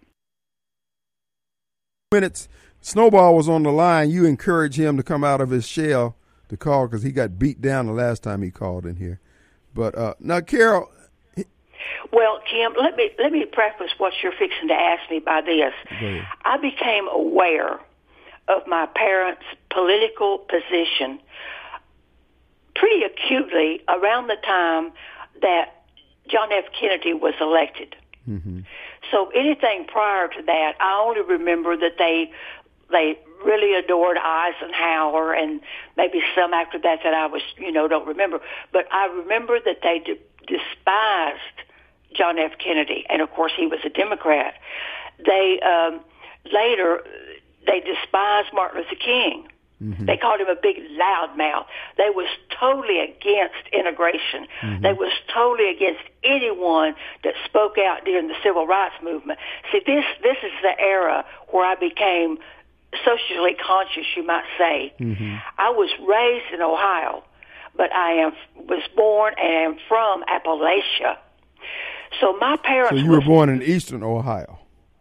Minutes. Snowball was on the line. You encouraged him to come out of his shell to call because he got beat down the last time he called in here. But now, Carol. Well, Kim, let me preface what you're fixing to ask me by this. I became aware of my parents' political position pretty acutely around the time that John F. Kennedy was elected. Mm-hmm. So anything prior to that, I only remember that they really adored Eisenhower, and maybe some after that I was, don't remember. But I remember that they despised John F. Kennedy, and of course he was a Democrat. They later despised Martin Luther King. Mm-hmm. They called him a big loudmouth. They was totally against integration. Mm-hmm. They was totally against anyone that spoke out during the civil rights movement. See, this is the era where I became socially conscious, you might say. Mm-hmm. I was raised in Ohio, but I was born and am from Appalachia. So my parents. So you were born in Eastern Ohio.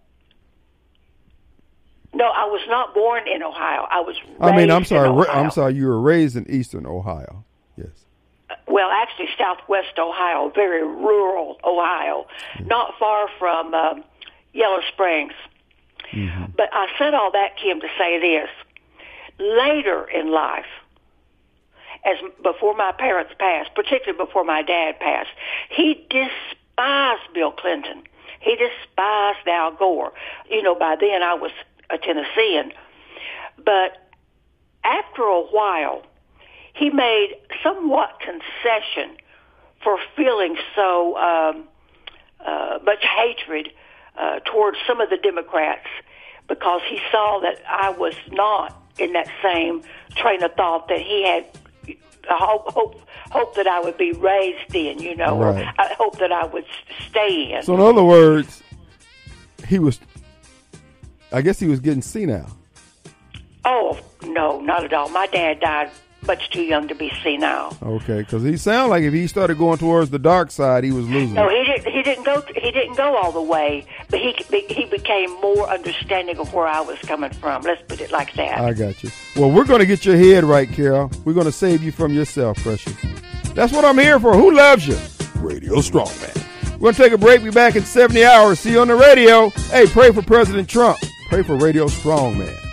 No, I was not born in Ohio. I was raised I'm sorry. in Ohio. I'm sorry. You were raised in Eastern Ohio. Yes. Well, actually, Southwest Ohio, very rural Ohio, not far from Yellow Springs. Mm-hmm. But I said all that, Kim, to say this. Later in life, as before my parents passed, particularly before my dad passed, he despised Bill Clinton. He despised Al Gore. By then I was a Tennessean. But after a while, he made somewhat concession for feeling so much hatred towards some of the Democrats, because he saw that I was not in that same train of thought that he had hope that I would be raised in, right. Or I hope that I would stay in. So in other words, I guess he was getting senile. Oh, no, not at all. My dad died much too young to be senile. Okay, because he sounded like if he started going towards the dark side, he was losing. No, he didn't go all the way, but he became more understanding of where I was coming from. Let's put it like that. I got you. Well, we're going to get your head right, Carol. We're going to save you from yourself, precious. That's what I'm here for. Who loves you? Radio Strongman. We're going to take a break. Be back in 70 hours. See you on the radio. Hey, pray for President Trump. Pray for Radio Strongman.